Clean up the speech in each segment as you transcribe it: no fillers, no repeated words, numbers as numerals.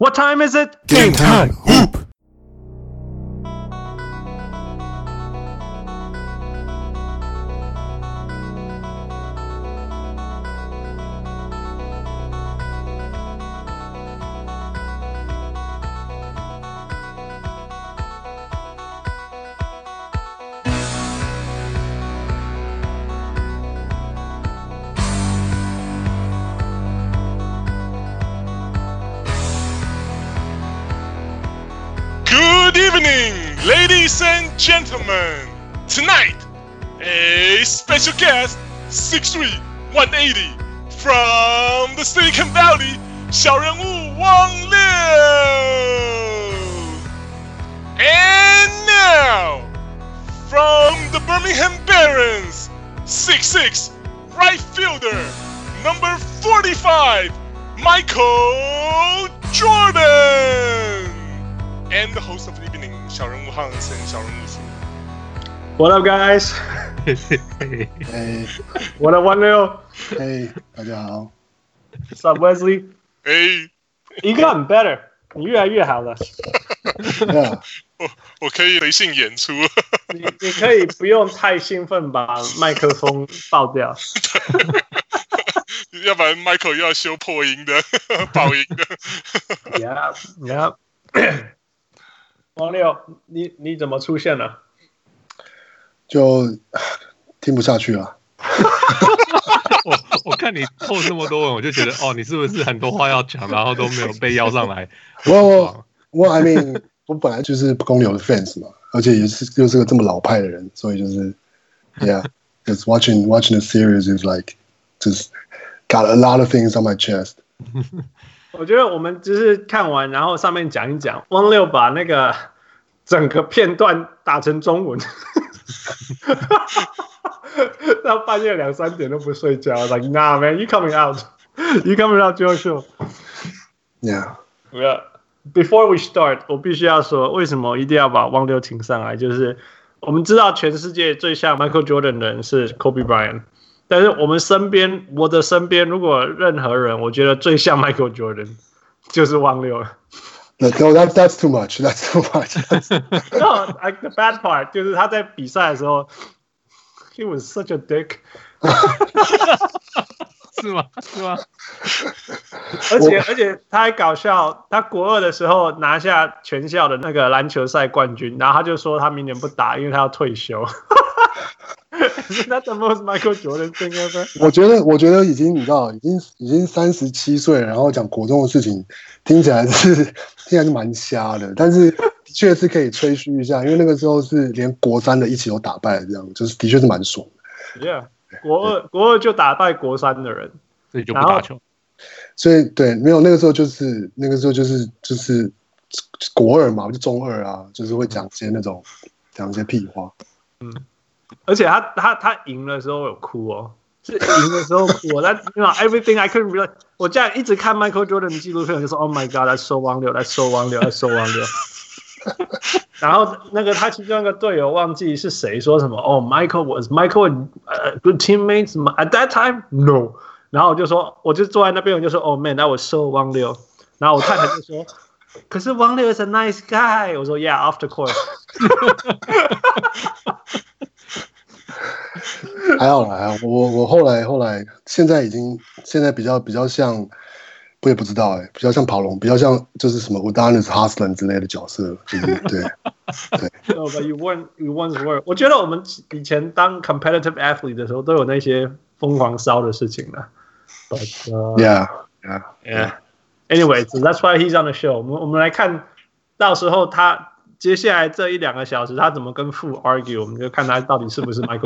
What time is it? Game time. Hoop. Good evening, ladies and gentlemen. Tonight, a special guest, 6'3", 180, from the Silicon Valley, 小人物汪六. And now, from the Birmingham Barons, 6'6", right fielder, number 45, Michael Jordan.And the host of the evening, 小人物 Hans and 小人物叔. What up, guys? Hey. What up, 16? Hey, 大家好。 What's up, Wesley? Hey. 你gotten better. 你越来越好了。 Yeah. 我可以随性演出。 你可以不用太興奮把麥克風爆掉。 要不然 Michael 又要修破音的、爆音的。 Yeah. 王六，你怎麼出現了？ 就聽不下去了。 我看你透這麼多文，我就覺得哦，你是不是很多話要講，然後都沒有被邀上來？ 我 I mean 我本來就是公牛的 fans 嘛，而且又是個這麼老派的人，所以就是 Yeah, just watching the series is like just got a lot of things on my chest. 我覺得我們就是看完，然後上面講一講，汪六把那個整個片段打成中文，到半夜2、3點都不睡覺 ，like nah man, you coming out Joe show. Yeah. Before we start, 我必須要說，為什麼一定要把汪六請上來？就是我們知道全世界最像 Michael Jordan 的人是 Kobe Bryant。但是我的身邊，如果任何人，我覺得最像 Michael Jordan 就是汪六了。 No, that's too much. That's too much. No, like the bad part 就是他在比賽的時候 ，he was such a dick 。 是嗎？ 而且他還搞笑，他國2的時候拿下全校的那個籃球賽冠軍，然後他就說他明年不打，因為他要退休。Isn't that the most Michael Jordan thing ever? 我覺得已經你知道，已經37歲了，然後講國中的事情，聽起來是蠻瞎的，但是的確是可以吹噓一下，因為那個時候是連國3的一起都打敗了，這樣就是的確是蠻爽的。 Yeah, 國2就打敗國3的人， 所以就不打球。 所以對，沒有那個時候就是國2嘛，就中2啊，就是會講一些屁話。 而且他贏的時候有哭哦，是贏的時候哭哦。Everything I couldn't realize， 我這樣一直看 Michael Jordan 的紀錄片，我就說 Oh my God， that's so 汪六。然後那個他其中一個隊友忘記是誰說什麼Oh Michael good teammates at that time no。然後我就坐在那邊，我就說Oh man that was so 汪六。然後我太太就說可是汪六 is a nice guy。我說 Yeah off the court。 還好，我後來現在比較像，我也不知道比較像跑龍，比較像就是什麼 Udonis Haslem 之類的角色，就是對。 No, but you once were。我覺得我們以前當 competitive athlete 的時候，都有那些瘋狂燒的事情了。But yeah. Anyway, so that's why he's on the show. 我們來看到時候他。接下來這1-2個小時，他怎麼跟父 argue， 我們就看他到底是不是 Michael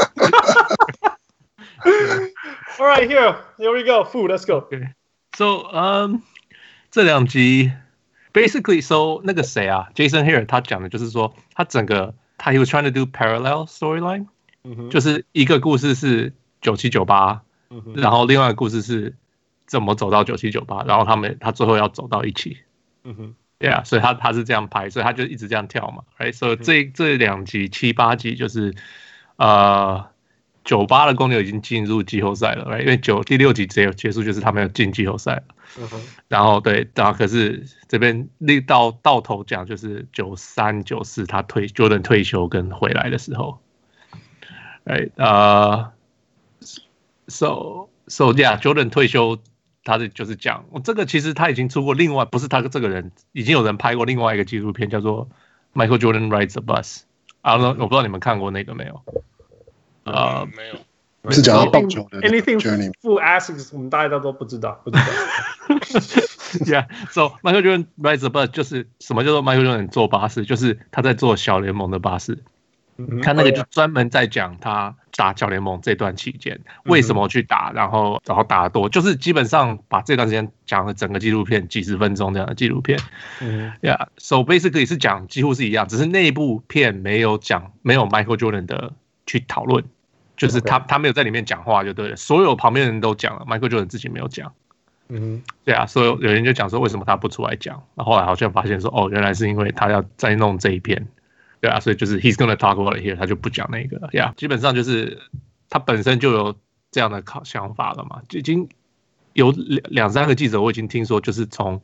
Jordan。All right, here we go. 父 let's go. Okay. So, 這2集 basically, so 那個誰啊 ，Jason Hare 他講的就是說，他he was trying to do parallel storyline，就是一個故事是9798，然後另外一個故事是怎麼走到9798，然後他最後要走到一起。Yeah， 所以他是這樣拍，所以他就一直這樣跳嘛，right？ 所以這2集7、8集就是 98的公牛已經進入季後賽了， right? 因為第6集結束就是他們要進季後賽了。然後对，可是這邊到頭講就是93、94他Jordan 退休跟回來的時候 ，right? So yeah, Jordan 退休，他就是講，這個其實他已經出過另外，不是他這個人，已經有人拍過另外一個紀錄片，叫做 Michael Jordan Rides the Bus。我不知道你們看過那個沒有？ 沒有。 是講到棒球的 anything full asks 我們大家都不知道。 Yeah, so Michael Jordan Rides the Bus 就是什麼叫做 Michael Jordan 坐巴士，就是他在坐小聯盟的巴士。他那個就專門在講他打小聯盟這段期間為什麼去打，然後打得多，就是基本上把這段時間講了整個紀錄片幾十分鐘這樣的紀錄片。Yeah, so basically 是講幾乎是一樣，只是那一部片沒有 Michael Jordan 的去討論。就是他沒有在裡面講話就對了，所有旁邊人都講了 ，Michael Jordan 自己沒有講。對啊，所以有人就講說為什麼他不出來講，然後後來好像發現說哦，原來是因為他要再弄這一篇，對啊，所以就是 he's gonna talk about it here， 他就不講那個了。Yeah， 基本上就是他本身就有這樣的想法了嘛，就已經有2-3個記者我已經聽說，就是從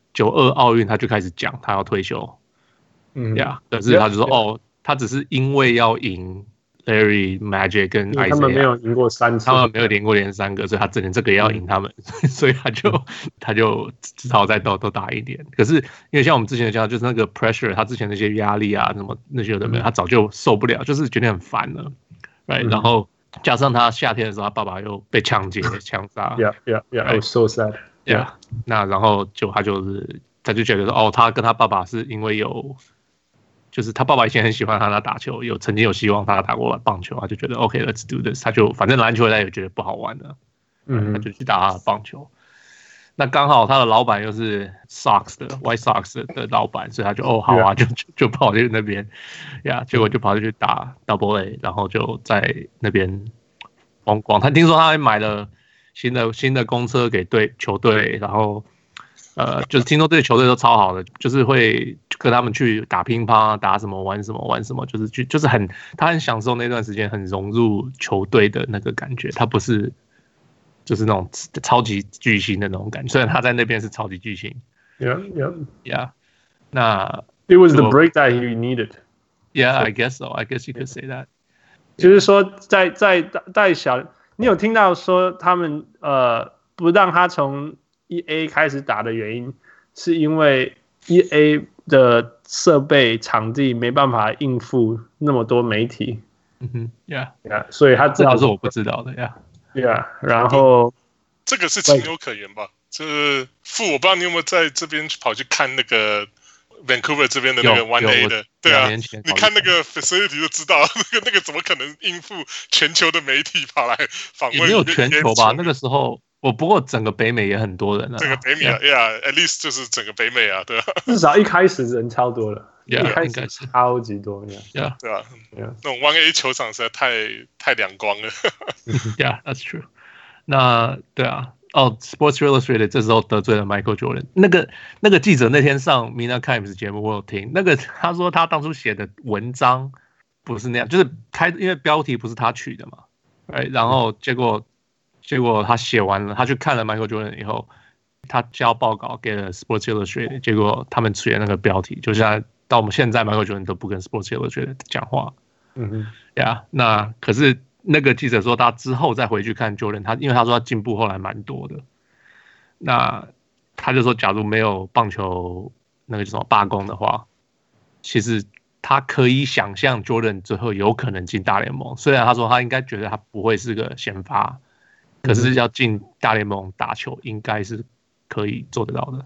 92奧運他就開始講他要退休。Yeah， 可是他就說哦，他只是因為要贏。Larry Magic 跟 Isaiah 他們沒有贏過3次， 他們沒有連過連3個，所以他连這個也要贏他們，所以他就只好再多打一點。可是因為像我們之前講，就是那個 pressure， 他之前那些壓力啊，什麼那些有的沒有，他早就受不了，就是覺得很煩了，right？然後加上他夏天的時候，他爸爸又被搶劫、槍殺 ，Yeah, so sad. Yeah， 那然後他就覺得說，哦，他跟他爸爸是因為有。就是他爸爸以前很喜歡他打球，曾經有希望他打過棒球，他就覺得 OK，let's do this， 他就反正籃球他也覺得不好玩了，他就去打他的棒球。那剛好他的老闆又是 White Sox 的老闆，所以他就好啊，就跑去那邊，結果就跑去打 Double A， 然後就在那邊風光。他聽說他還買了新的公車給球隊，然後。就是聽說這些球隊都超好的，就是會跟他們去打乒乓、打什麼、玩什麼，就是他很享受那段時間，很融入球隊的那個感覺。他不是就是那種超級巨星的那種感覺，雖然他在那邊是超級巨星。Yeah. 那 It was the break that he needed. Yeah, I guess so. I guess you could say that. 就是說，在小，你有聽到說他們不讓他從1A 開始打的原因，是因為 1A 的設備場地沒辦法應付那麼多媒體。 Yeah， 所以他知道是我不知道的 ，Yeah， 然後這個是情有可原吧？就是我不知道你有沒有在這邊跑去看那個 Vancouver 這邊的那個 1A 的，對啊，你看那個 facility 就知道，那個怎麼可能應付全球的媒體跑來訪問？ 也沒有全球吧？那個時候。不過整個北美也很多人啊。整個北美啊 ，Yeah，at least 就是整個北美啊，对啊。 至少一開始人超多了， 一開始超級多 ，Yeah， 對吧？那種 1A 球場實在太兩光了。 Yeah, that's true。那對啊，Sports Illustrated 這時候得罪了 Michael Jordan。那個記者那天上 Mina Kimes 節目，我有聽。他說他當初寫的文章不是那樣，就是因為標題不是他取的嘛，然後結果他寫完了，他去看了 Michael Jordan 以後，他交報告給了 Sports Illustrated， 結果他們取的那個標題，就像到我們現在 Michael Jordan 都不跟 Sports Illustrated 講話。那可是那個記者說他之後再回去看 Jordan， 因為他說他進步後來蠻多的。那他就說，假如沒有棒球那個叫什麼罷工的話，其實他可以想象 Jordan 最後有可能進大聯盟。雖然他說他應該覺得他不會是個先發。可是要進大聯盟打球，應該是可以做得到的。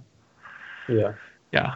Yeah.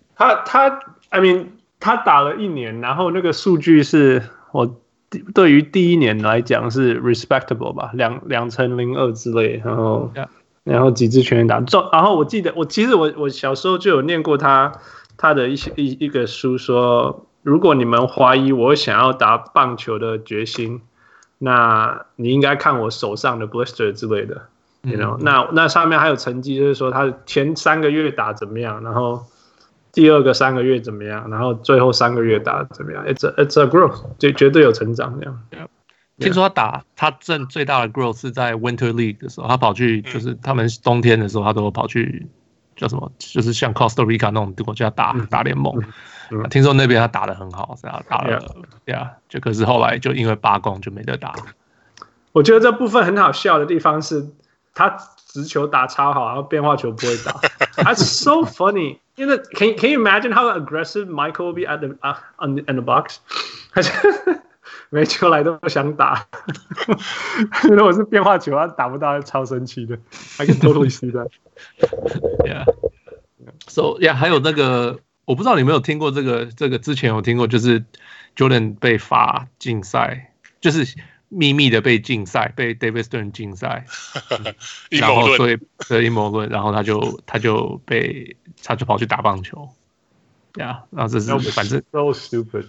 他打了1年，然後那個數據是我對於第1年來講是 respectable 吧，2成02之類，然後幾支全壘打。然後我記得我小時候就有念過他的一個書說，如果你們懷疑我想要打棒球的決心。那你應該看我手上的 blister 之類的 ，you know， 那上面還有成績，就是說他前3個月打怎麼樣，然後第2個3個月怎麼樣，然後最後3個月打怎麼樣 ，it's a growth， 就絕對有成長這樣。 聽說他掙最大的 growth 是在 Winter League 的時候，他跑去就是他們冬天的時候，他都跑去叫什麼，就是像 Costa Rica 那種国家打聯盟。聽說那邊他打得很好，是啊，打了就可是後來就因為罷工就沒得打。 我覺得這部分很好笑的地方是，他直球打超好，然後變化球不會打。That's so funny. You know, can you imagine how aggressive Michael will be at in the box? 每球來都想打。如果是變化球，他打不到，超生氣的。I can totally see that. Yeah. So yeah， 還有那個，我不知道你有沒有聽過这個之前有聽過，就是 Jordan 被罰禁賽，就是秘密的被禁賽，被 David Stern 禁賽，然後所以陰謀論，然後他就跑去打棒球，呀，然後這是反正 so stupid。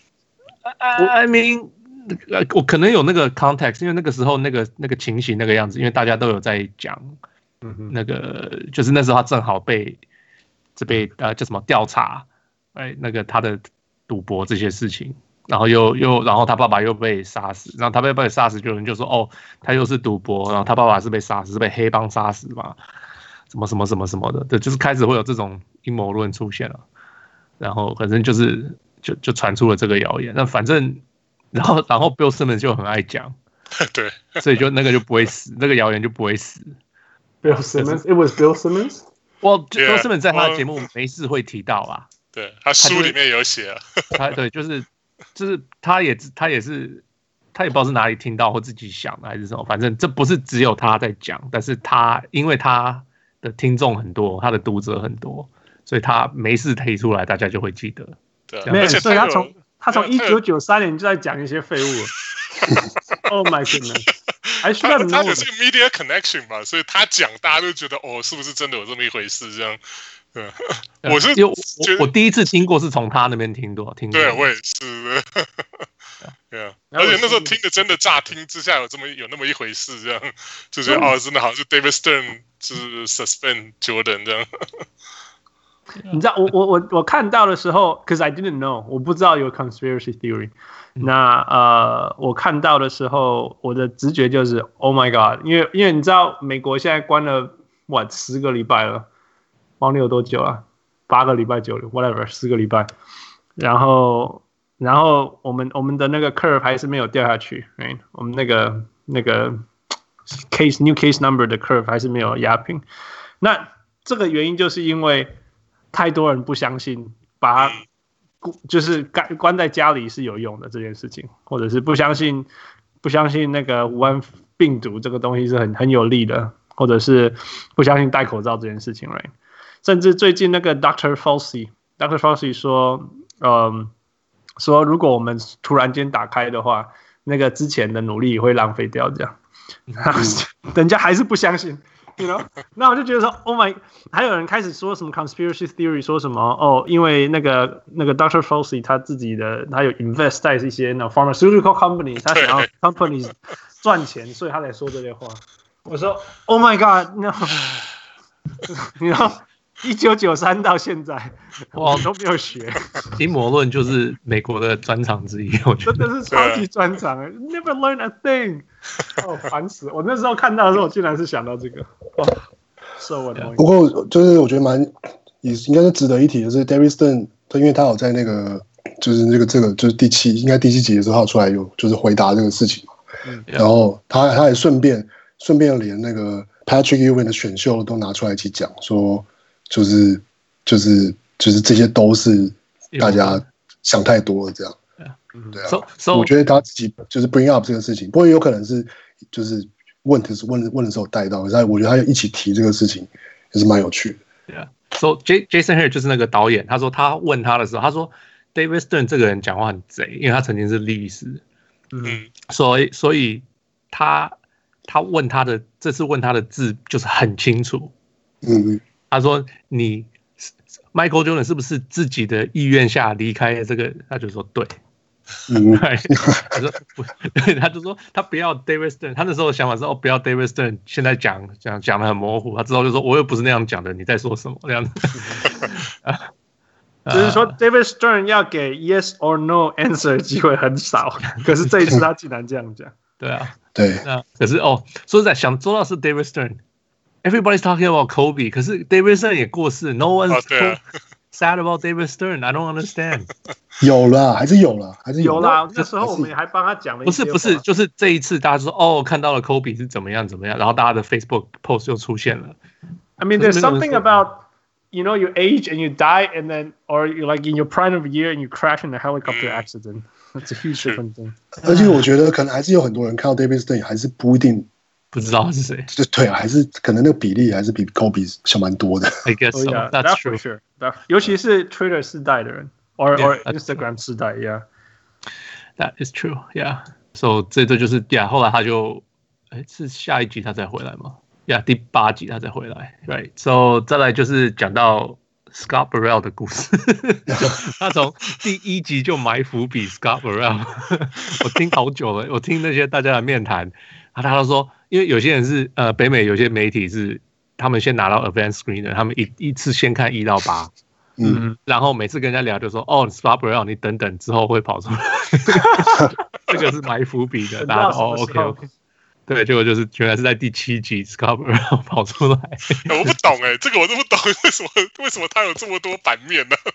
I mean， 我可能有那個 context， 因為那個時候那個情形那個樣子，因為大家都有在講，那個就是那時候他正好被叫什麼調查，那個他的賭博這些事情。然後然後他爸爸又被殺死，然後他被殺死，就有人就說哦，他又是賭博，然後他爸爸是被杀死，是被黑幫殺死嘛，什么的，对，就是開始會有這種陰謀論出現了，然後反正就傳出了這個謠言，那反正然後 Bill Simmons 就很愛講， 對， 所以就那個就不會死，那個謠言就不會死。 Bill Simmons，it was Bill Simmons。 Bill Simmons 在他的節目沒事會提到啊， 對，他書裡面有寫啊， 對，就是他也是他也不知道是哪裡聽到或自己想的還是什麼，反正這不是只有他在講，但是因為他的聽眾很多，他的讀者很多，所以他沒事提出來，大家就會記得。 對， 而且所以他從1993年就在講一些廢物了。Oh my goodness！ 還需要他有這個 media connection 吧，所以他講大家都覺得哦，是不是真的有這麼一回事？這樣。對，我第一次聽過是從他那邊聽過。 對，我也是。對啊，而且那時候聽的真的乍聽之下有那麼一回事，這樣就覺得哦，真的好像是 David Stern 就是 suspend Jordan 這樣。 你知道我看到的時候 ，cause I didn't know， 我不知道有 conspiracy theory。那我看到的时候，我的直覺就是 Oh my God， 因為你知道美國現在關了10個禮拜了。忘了有多久啊？8個禮拜9個 whatever 10個禮拜，然後我們的那個 curve 還是沒有掉下去， right? 我們那個 new case number 的 curve 還是沒有壓平。那這個原因就是因為太多人不相信把它就是關在家裡是有用的這件事情，或者是不相信那個武漢病毒這個東西是很有利的，或者是不相信戴口罩這件事情 ，right？甚至最近那個 Dr. Fauci 說如果我們突然間打開的話，那個之前的努力會浪費掉，這樣，人家還是不相信 ，you know？ 那我就覺得說 ，Oh my， 還有人開始說什麼 conspiracy theory， 說什麼哦，因為那個 Dr. Fauci 他有 invest 在一些那 pharmaceutical companies， 他想要 companies 賺錢，所以他才說這些話。我說 ，Oh my God，no， 你知道1993到現在，我都沒有學。 陰謀論就是美國的專長之一，我覺得真的是超級專長。Never learn a thing。哦，煩死！我那時候看到的時候，我竟然是想到這個。哦，so annoying。不過就是我覺得應該是值得一提的是 ，David Stern， 因為他有在那個就是這個就是第7集的時候，他有出來有就是回答這個事情嘛。然後他也順便連那個 Patrick Ewing 的選秀都拿出來一起講說。就是這些都是大家想太多了這樣，對啊。我覺得他自己就是 bring up 這個事情，不過有可能是就是問的時候帶到，可是我覺得他一起提這個事情也是蠻有趣的。 Yeah. So Jason Hehir 就是那個導演，他說他問他的時候，他說 David Stern 這個人講話很賊，因為他曾經是律師，所以他問他的這次問他的字就是很清楚，他說：“你 Michael Jordan 是不是自己的意願下離開這個？”他就說：“對。”他說：“不，他就說他不要 David Stern。他那時候的想法是：哦，不要 David Stern。現在講得很模糊。他之後就說：我又不是那樣講的，你在說什麼？這樣子。 就是說 ，David Stern 要給 yes or no answer 機會很少，可是這一次他竟然這樣講。 對啊， 对。 那可是说實在想做到是 David Stern。Everybody's talking about Kobe， 可是 David Stern 也過世 ，No one's sad about David Stern。I don't understand。 有啦，還是有啦。 那時候我們还幫他講了一些。 不是，就是這一次大家說看到了 Kobe 是怎麼樣，然後大家的 Facebook post 就出現了。 I mean, there's something about you age and you die, and then or you're like in your prime of year and you crash in a helicopter accident. That's a huge different thing. 而且我覺得可能還是有很多人看到 David Stern 還是不一定。 不知道是誰， 对啊，還是可能那個比例還是比 Kobe 小蠻多的。 I guess so. That's true. For sure. 尤其是 Twitter 世代的人 or Instagram 世代 ，Yeah. That is true. Yeah. So 這就是 Yeah. 後來他就是下一集他才回來嗎 ？Yeah. 第8集他才回來 ，Right. So 再來就是講到 Scott Burrell 的故事，他從第1集就埋伏筆 Scott Burrell 。我聽好久了，我聽那些大家的面談。他都說，因為有些人是北美有些媒體是他們先拿到 Advanced Screener， 他們一次先看1到8，然後每次跟人家聊就說Scott Burrell 你等等之後會跑出來，這個是埋伏筆的，大家都OK， 對，結果就是原來是在第7集 Scott Burrell 跑出來， 我不懂這個我都不懂，為什麼他有這麼多版面呢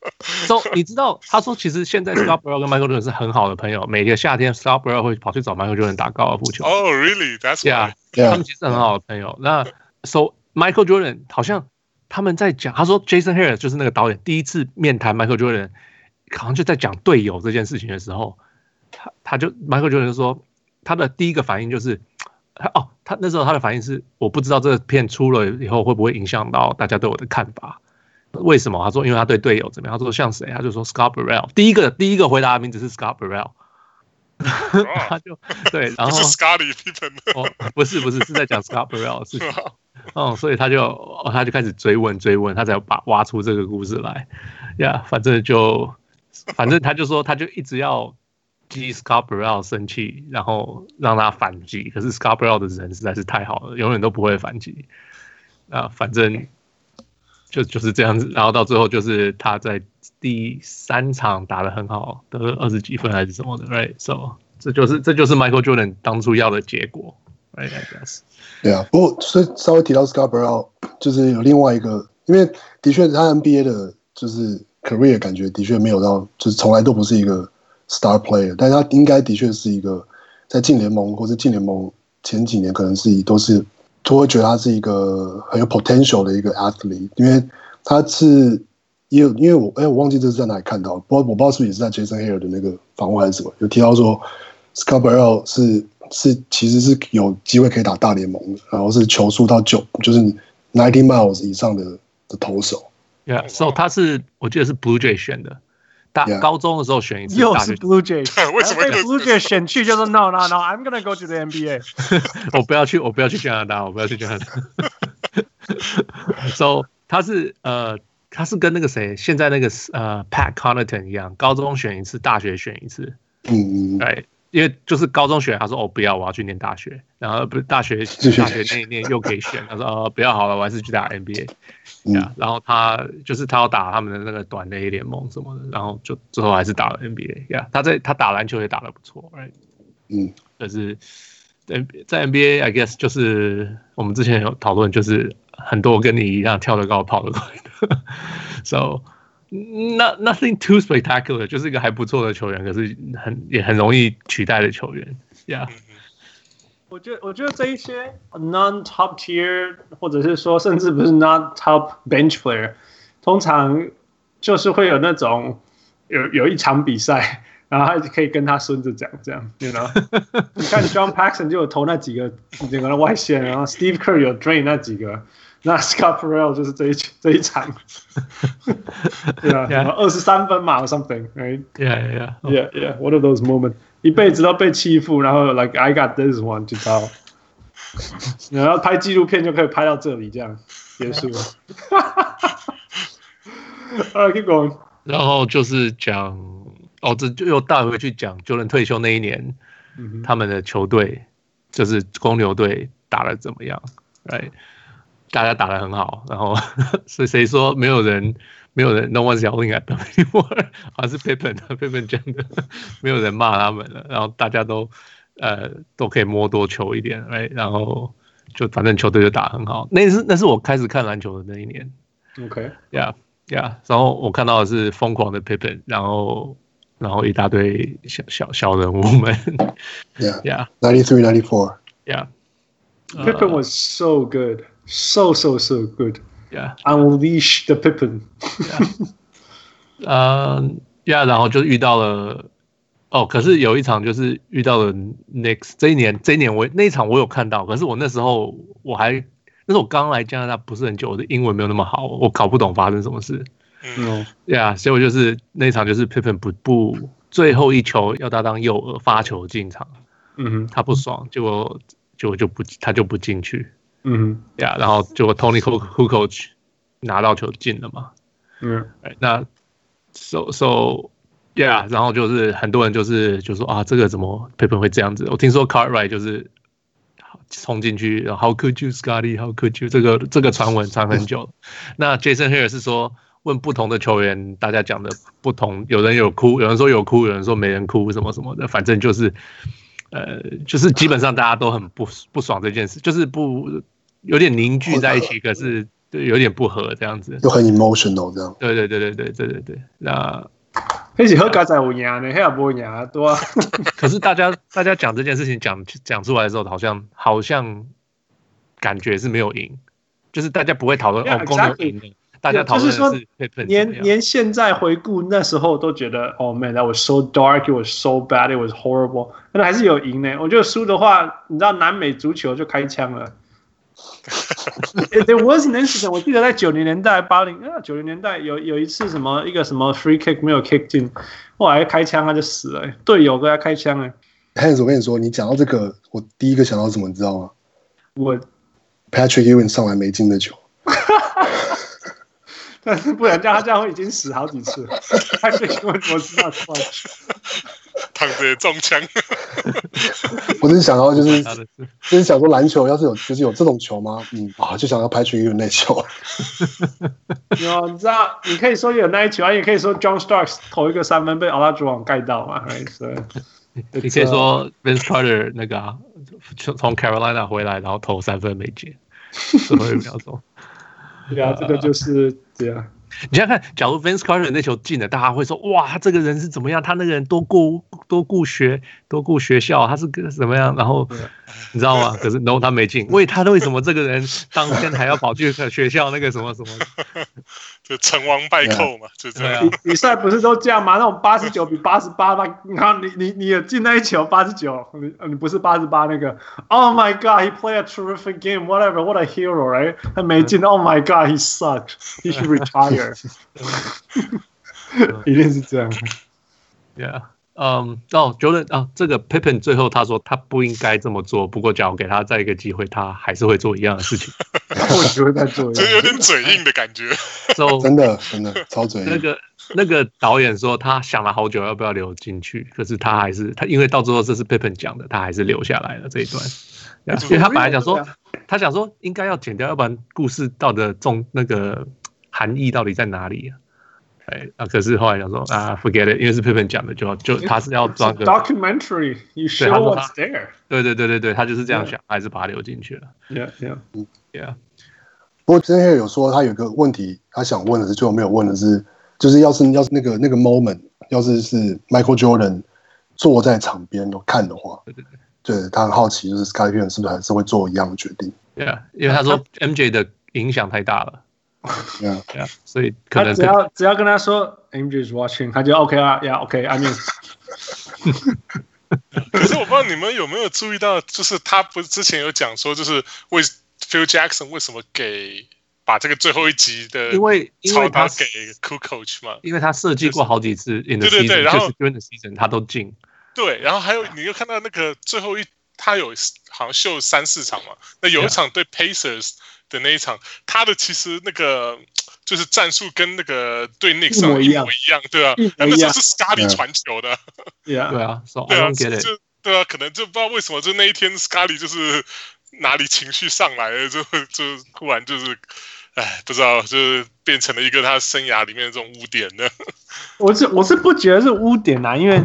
？So 你知道他說其實現在 Scott Burrell 跟 Michael Jordan 是很好的朋友，每個夏天 Scott Burrell 會跑去找 Michael Jordan 打高爾夫球。 Oh, really? That's why. Yeah, 他們其實很好的朋友。那 So Michael Jordan 好像他們在講，他說 Jason Harris 就是那個導演第一次面談 Michael Jordan， 好像就在講隊友這件事情的時候，他就 Michael Jordan 就說他的第一個反應就是他那時候他的反應是我不知道這個片出了以後會不會影響到大家對我的看法。為什麼？他說因為他對隊友怎麼樣？他說像誰？他就說 Scott Burrell。第一個回答的名字是 Scott Burrell。他就對，然後不是 Scottie Pippen。 不是是在講 Scott Burrell 的事情。所以他就開始追問，他才挖出這個故事來。呀，反正他就說他就一直要激 Scott Burrell 生氣，然後讓他反擊。可是 Scott Burrell 的人實在是太好了，永遠都不會反擊。反正。就是這樣子，然後到最後就是他在第3場打得很好，得了20幾分還是什麼的 ，right？ So 這就是 Michael Jordan 當初要的結果 ，right？ I guess。 對啊，不過所以稍微提到 Scott Burrell， 就是有另外一個，因為的確他 NBA 的就是 career 感覺的確沒有到，就是從來都不是一個 star player， 但是他應該的確是一個在進聯盟或是進聯盟前幾年可能都會覺得他是一個很有 potential 的一個 athlete， 因為他是因為我忘記這是在哪裡看到，我不知道是不是也是在 Jason Hare 的那個訪問還是什麼，有提到說 Scott Burrell 其實是有機會可以打大聯盟的，然後是球速到就是90 miles 以上的投手。 Yeah, so 他我記得是 Blue Jay 選的。高中的時候選一次， 又是 Blue Jays， 為什麼被 Blue Jays 選去就是 No，I'm gonna go to the NBA 。 我不要去加拿大。So 他是跟那個誰，現在那個Pat Connaughton 一樣，高中選一次，大學選一次。對，因為就是高中選，他說不要，我要去念大學，然後不是大學念一念又可以選，他說不要好了，我還是去打 NBA。然後他要打他們的那個短的 A 聯盟什麼的，然後就最後還是打了 NBA。他打籃球也打得不錯 ，right？ 可是在 NBA I guess 就是我們之前有討論，就是很多跟你一樣跳得高跑得快的，so nothing too spectacular， 就是一個還不錯的球員，可是也很容易取代的球員 ，yeah。 我覺得這一些 non-top tier 或者是說甚至不是 not top bench player， 通常就是會有那種有一場比賽，然後他可以跟他孫子講這樣 ，you know？ 你看 John Paxson 就有投那幾個整個的外線，然後 Steve Kerr 有 drain 那幾個，那 Scott Burrell 就是這一場，對啊，然後23分嘛 or something，right？ Yeah，one of those moments。一輩子都被欺負，然後 like I got this one 就到，然後拍紀錄片就可以拍到這裡，這樣結束了。Alright, keep going。 然後就是講，這就又帶回去講Jordan退休那一年，他們的球隊就是公牛隊打得怎麼樣 ？Right， 大家打得很好，然後誰說沒有人 ，No one's yelling at them anymore， 好像是 Pippen 講的，沒有人罵他們了，然後大家都都可以摸多球一點，然後就反正球隊就打很好。那是我開始看籃球的那一年。 OK，yeah， 然後我看到的是瘋狂的 Pippen， 然後一大堆小人物們。 Yeah， 93, 94. Yeah，Pippen was so good, so good. Yeah，unleash the Pippen. Yeah， 然後就遇到了。可是有一场就是遇到了 Knicks， 这一年那一場我有看到，可是我那时候那是我剛来加拿大不是很久，我的英文没有那麼好，我搞不懂發生什麼事。所以我就是那一場就是 Pippen 不最後一球要他當右耳發球進場，他不爽，結果他就不進去，然後結果 Tony Kukoc 拿到球進了嘛，那 Yeah， 然後就是很多人就說啊，這個怎麼 Pippen 會這樣子？我聽說 Cartwright 就是衝進去 ，How could you, Scotty? How could you？ 這個傳聞傳很久了。那 Jason Hehir 是說問不同的球員，大家講的不同，有人有哭，有人說有哭，有人說沒人哭，什麼什麼的，反正就是基本上大家都很不爽這件事，就是有點凝聚在一起，可是有點不合這樣子， 又很 emotional 這樣。 對，那。 那是好加在有贏呢，那也沒贏對啊。 可是大家講這件事情講出來的時候，好像感覺是沒有贏，就是大家不會討論公牛贏的，大家討論的是 Pippen。 連現在回顧那時候都覺得，Oh man, that was so dark, it was so bad, it was horrible。但還是有贏呢。我覺得輸的話，你知道南美足球就開槍了。There was an incident， 我記得在90年代、90年代有一次一個什麼 free kick 沒有 kick 進，後來開槍他就死了，隊友跟他開槍了。 Hans， 我跟你說，你講到這個，我第一個想到什麼，你知道嗎？ 我 Patrick Ewing 上來沒進的球。 但是不然他這樣會已經死好幾次了。Patrick Ewing 我知道錯。 躺着中槍。 我只是想到就是想說籃球要是有這種球嗎？就想要Patrick Ewing那球。 有，你知道，你可以說有那一球，也可以說 John Starks 投一個3分被Olajuwon蓋到嘛。 你可以說 Vince Carter 那個從 Carolina 回來，然後投3分沒進，最後1秒鐘。 對啊，這個就是對啊。 你想想看，假如 Vince Carter 那球進了，大家會說哇，他這個人是怎麼樣？他那個人多顧學校，他是個怎麼樣？然後你知道嗎？可是 no， 他沒進。為什麼這個人當天還要跑去學校那個什麼什麼？ 就成王敗寇嘛，就這樣。 比賽不是都這樣嗎？那種89比88嘛，然後你有進那一球89，你不是88那個 ？Oh my God, he played a terrific game. Whatever, what a hero, right? 他沒進 ，Oh my God, he sucked. He should retire. 一定是這樣。 Jordan 這個 Pippen 最後他說他不應該這麼做，不過假如給他再一個機會，他還是會做一樣的事情。 我覺得在做一樣， 就有點嘴硬的感覺。 真的超嘴硬。 那個導演說他想了好久要不要留進去，可是他因為到最後這是 Pippen 講的，他還是留下來了這一段。因為他本來講說，他想說應該要剪掉，要不然故事到的那個含義到底在哪裡啊？可是後來想說forget it， 因為是 Pippen 講的，就他是要裝個 documentary， you show what's there。 對，他就是這樣想，還是把它留進去了。Yeah。 不過之前有說他有個問題，他想問的是最後沒有問的是，就是要是那個 moment， 要是 Michael Jordan 坐在場邊都看的話，對，他很好奇，就是 Scottie Pippen 是不是還是會做一樣的決定？ 對啊，因為他說 MJ 的影響太大了。 Yeah， 所以可能只要跟他說 MJ is watching， 他就 OK 啊 ，Yeah OK，I mean。 可是我不知道你們有沒有注意到，就是他不是之前有講說，就是Phil Jackson 為什麼把這個最後一集的操刀給 Kukoc 嘛？ 因為他設計過好幾次 in the season， 對，然後就是 during the season 他都進。 對，然後還有你又看到那個最後他有好像秀3-4場嘛，那有一場對 Pacers 的那一場，他的其實那個就是戰術跟那個对 Knicks 一模一樣，對啊，那時候是 Scotty 傳球的， 對啊， 對啊，可能就不知道為什麼，就那一天 Scotty 就是哪裡情緒上來了，就突然就是，不知道，就是變成了一個他生涯裡面的這種污點的。 我是不覺得是污點啊，因為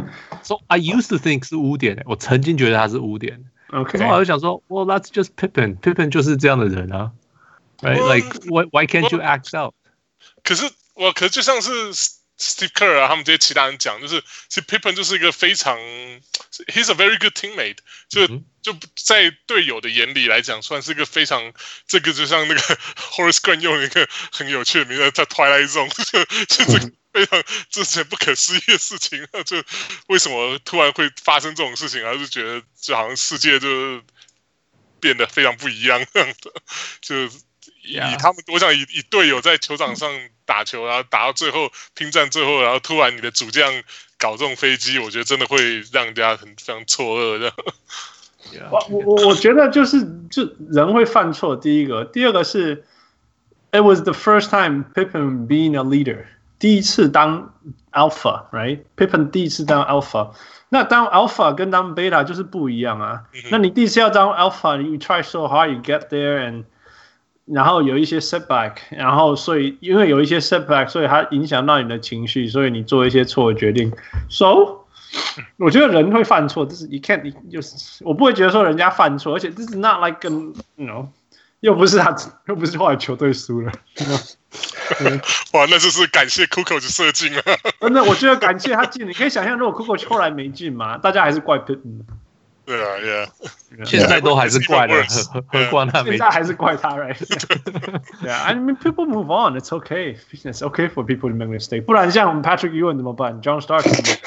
So I used to think 是污點，我曾經覺得他是污點。 OK， 然後我就想說 ，Well, that's just Pippen 就是這樣的人啊 ，right? Like why can't you act out？ 可是就像是 Steve Kerr 啊，他們這些其他人講，就是其實 Pippen 就是一個非常 ，he's a very good teammate， 就在隊友的眼裡來講，算是一個非常，這個就像那個 Horace Grant 用了一個很有趣的名字叫 Twilight Zone， 就這個非常之前不可思議的事情，就為什麼突然會發生這種事情啊？就覺得就好像世界就變得非常不一樣這樣的，就以他們，我想以隊友在球場上打球，然後打到最後拼戰最後，然後突然你的主將搞這種飛機，我覺得真的會讓人家非常錯愕的。 我覺得就人會犯錯，第一個，第二個是 ，it was the first time Pippen being a leader， 第一次當 alpha，right？Pippen 第一次當 alpha， 那當 alpha 跟當 beta 就是不一樣啊。那你第一次要當 alpha，you try so hard，you get there，and 然後有一些 setback， 然後所以因為有一些 setback， 所以它影響到你的情緒，所以你做一些錯的決定。So， 我覺得人會犯錯，就是 you can't， 就是我不會覺得說人家犯錯，而且 this is not like you know， 又不是後來球隊輸了。 哇，那就是感謝 Kukoc 射進了。 真的，我覺得感謝他進。你可以想象，如果 Kukoc 後來沒進嘛，大家還是怪 Pippen。 對啊 ，Yeah， 現在都還是怪的，何況他没。 现在還是怪他 ，right？ 對啊 ，I mean people move on, it's okay, it's okay for people to make mistake。不然像 Patrick Ewing 怎麼辦 ？John Stark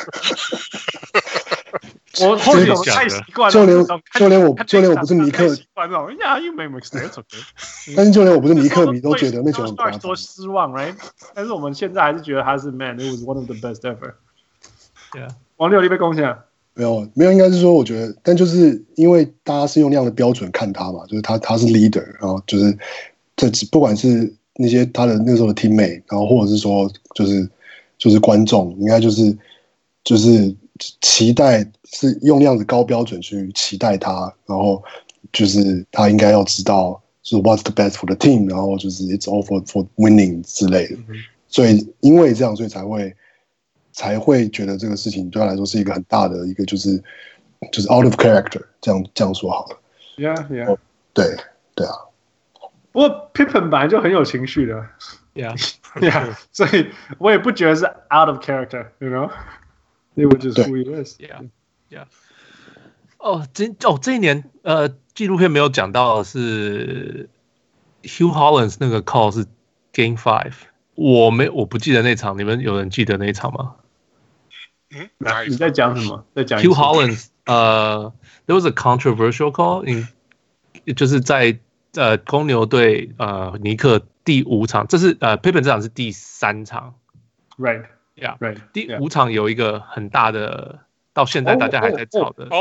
我或者我太習慣了， 就連我不是尼克， 習慣那種 ，Yeah, you make mistakes, okay。 但是就連我不是尼克迷都覺得那球很誇張， 多失望 ，right？ 但是我們現在還是覺得他是 Man, it was one of the best ever。 Yeah， 王六，你被貢獻。 沒有，應該是說，我覺得，但就是因為大家是用那樣的標準看他嘛，就是他是 leader， 然後就是不管是那些他的那時候的 teammate， 然後或者是說就是觀眾，應該就是期待是用那樣子高標準去期待他，然後就是他應該要知道就是 what's the best for the team， 然後就是 it's all for winning 之類的，所以因為這樣，所以才會覺得這個事情對他來說是一個很大的一個就是 out of character， 這樣說好了。 Yeah， 對啊。 不過 Pippen 本來就很有情緒的。Yeah， 所以我也不覺得是 out of character，you know，it was just who he is。Yeah。 這一年紀錄片沒有講到的是 Hugh Hollins 那個 call 是 Game 5， 我不記得那場，你們有人記得那一場嗎？ 你在講什麼？在講 Hugh Hollins， there was a controversial call， 就是在公牛對尼克第5場，這是Pippen 這場是第3場 ，right， yeah， right， 第5場有一個很大的，到現在大家還在吵的。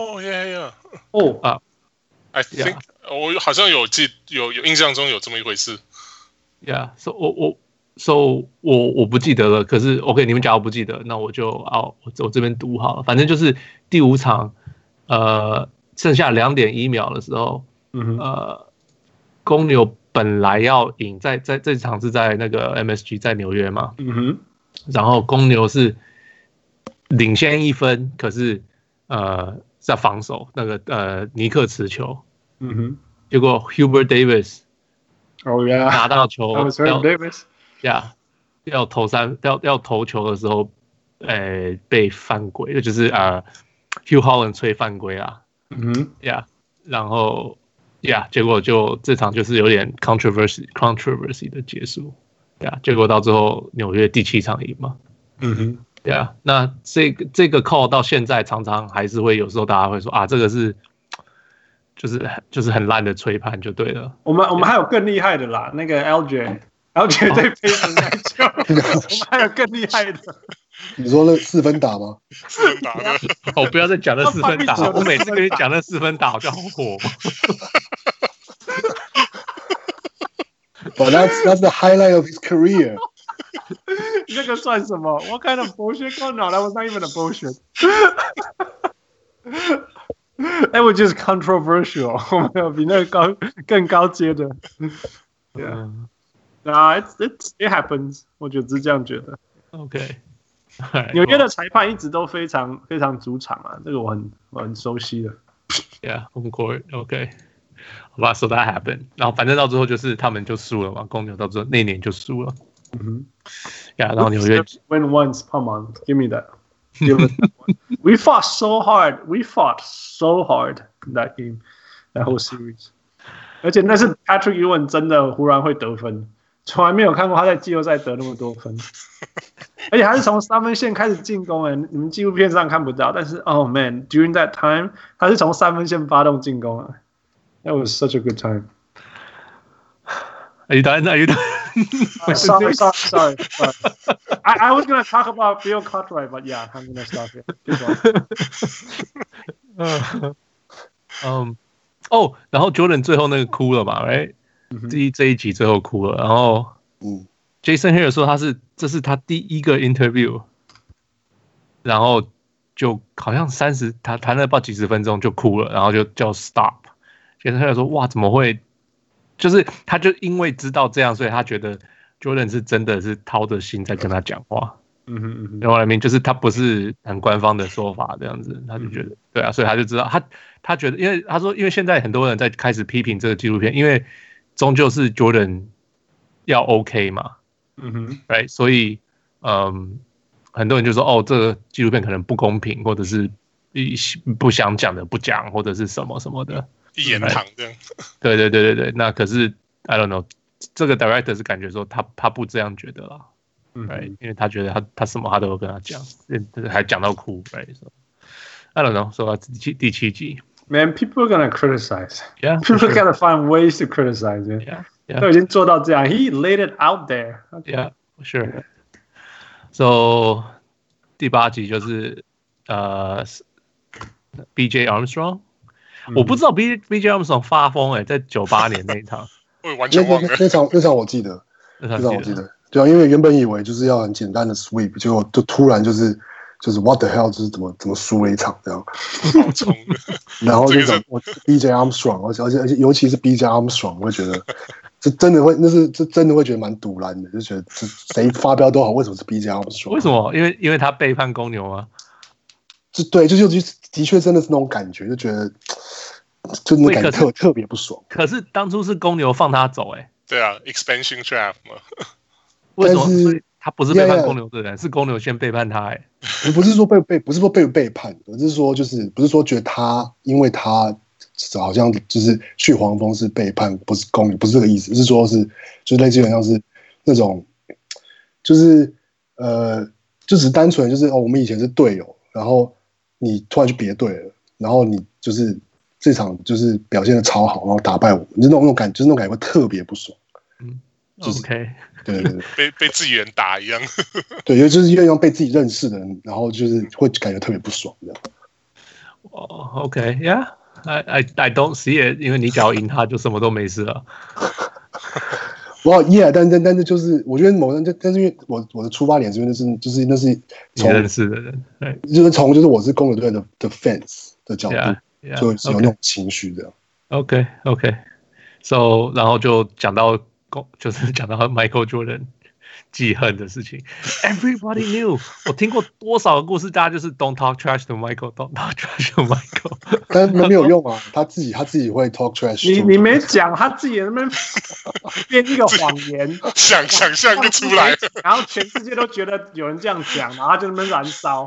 I think 我好像有印象中有這麼一回事。 Yeah， so 我不記得了，可是 OK， 你們假如不記得，那我就我這邊讀好了。反正就是第5場，剩下2.1秒的時候，公牛本來要贏，在這場是在那個 MSG 在紐約嘛，然後公牛是領先1分，可是在防守那個尼克持球，結果 Hubert Davis 拿到球要投球的時候，被犯規，就是 Hugh Hollins 吹犯規啦，然後結果就這場就是有點 controversy 的結束，結果到最後紐約第7場贏嘛，那這個 call 到現在常常還是會有時候大家會說啊，這個是就是很爛的吹判就對了。 我們還有更厲害的啦，那個 LJ 對Pacers那球，我們還有更厲害的。 你說那4分打嗎 ？4分打的， 我不要再講那4分打，我每次跟你講那4分打，我就好火。 But that's the highlight of his career. 那個算什麼 ？What kind of bullshit? No, that was not even a bullshit. That was just controversial. 我们有比那個更高階的。Yeah. Nah, it happens. 我就只是這樣覺得。 OK. 紐約的裁判一直都非常非常主场啊，这個我很熟悉的。 Yeah, home court, OK. 好吧 ，So that happened. 然後反正到最後就是他們就輸了嘛，公牛到最後那年就輸了。Yeah, 然後紐約 win once, come on, give me that. Give us that one. We fought so hard in that game, that whole series. 而且那是 Patrick Ewing 真的忽然會得分，從來沒有看過他在季後賽得那麼多分。而且還是從3分線開始進攻，你們紀錄片上看不到，但是 Oh man, during that time 他是從3分線發動進攻啊。That was such a good time. Are you done? Sorry. I was gonna talk about Bill Cartwright, but yeah, I'm gonna stop here. 然後 Jordan 最後那個哭了嘛 ，right？ 這一集最後哭了，然後Jason Hiller 說這是他第一個 interview， 然後就好像他談了不知道幾十分鐘就哭了，然後就叫 stop。Jason Hiller 說哇怎麼會？就是他就因為知道這樣，所以他覺得 Jordan 是真的是掏着心在跟他講話。然後就是他不是很官方的說法這樣子，他就覺得對啊，所以他就知道他覺得，因为他說，因為現在很多人在開始批評這個紀錄片，因為終究是 Jordan 要 OK 嘛，right？ 所以很多人就說哦，這個紀錄片可能不公平，或者是不想講的不講，或者是什麼什麼的。 一言堂這樣。 對，那可是 I don't know， 這個 director 是感覺說他不這樣覺得啦，right？ 因為他覺得他什麼他都有跟他講，還講到哭 ，right？So I don't know， 說到第7集 ，Man, people are gonna criticize. Yeah, people gotta find ways to criticize it. Yeah. 都已經做到這樣 ，He laid it out there. Yeah, sure. So 第8集就是BJ Armstrong。我不知道 BJ Armstrong 發瘋在98年那一場， 我完全忘了那場我記得，對啊，因為原本以為就是要很簡單的 sweep， 結果就突然就是 what the hell， 就是怎麼輸了一場這樣， 好衝然後就講我 BJ Armstrong， 而且尤其是 BJ Armstrong， 我會覺得這真的會覺得蠻賭爛的，就覺得誰發飆都好，為什麼是 BJ Armstrong？ 為什麼？因為他背叛公牛嗎？ 對，就的確真的是那種感覺，就覺得就那感覺特別不爽。 可是當初是公牛放他走， 對啊 ，expansion draft 嘛。 為什麼？所以他不是背叛公牛的人，是公牛先背叛他， 不是說被背叛，而是說就是不是說覺得他因為他好像就是去黃蜂是背叛，不是公牛，不是這個意思，是說是就類似於像是那種就是就只單純就是我們以前是隊友，然後你突然去別隊了，然後你就是這場就是表現的超好，然後打敗我，就是那種感覺會特別不爽。 就是 OK， 對， 被自己人打一樣。 對，就是因為被自己認識的人，然後就是會感覺特別不爽這樣。 OK，Yeah，I don't see it， 因為你只要贏他，就什麼都沒事了。 Yeah， 但是就是我覺得但是因為我的出發點是因為那是從認識的人，對， 就是從就是我是公牛隊的 fans 的角度，就有那種情緒這樣。 OK，So 然後就講到。就是講到 Michael Jordan 記恨的事情 ，Everybody knew。我聽過多少個故事，大家就是 Don't talk trash to Michael，Don't talk trash to Michael。 但是沒有用啊，他自己會 talk trash。 你沒講，他自己在那邊編一個謊言， 想象就出來了， 然後全世界都覺得有人這樣講，然後他就在那邊燃燒。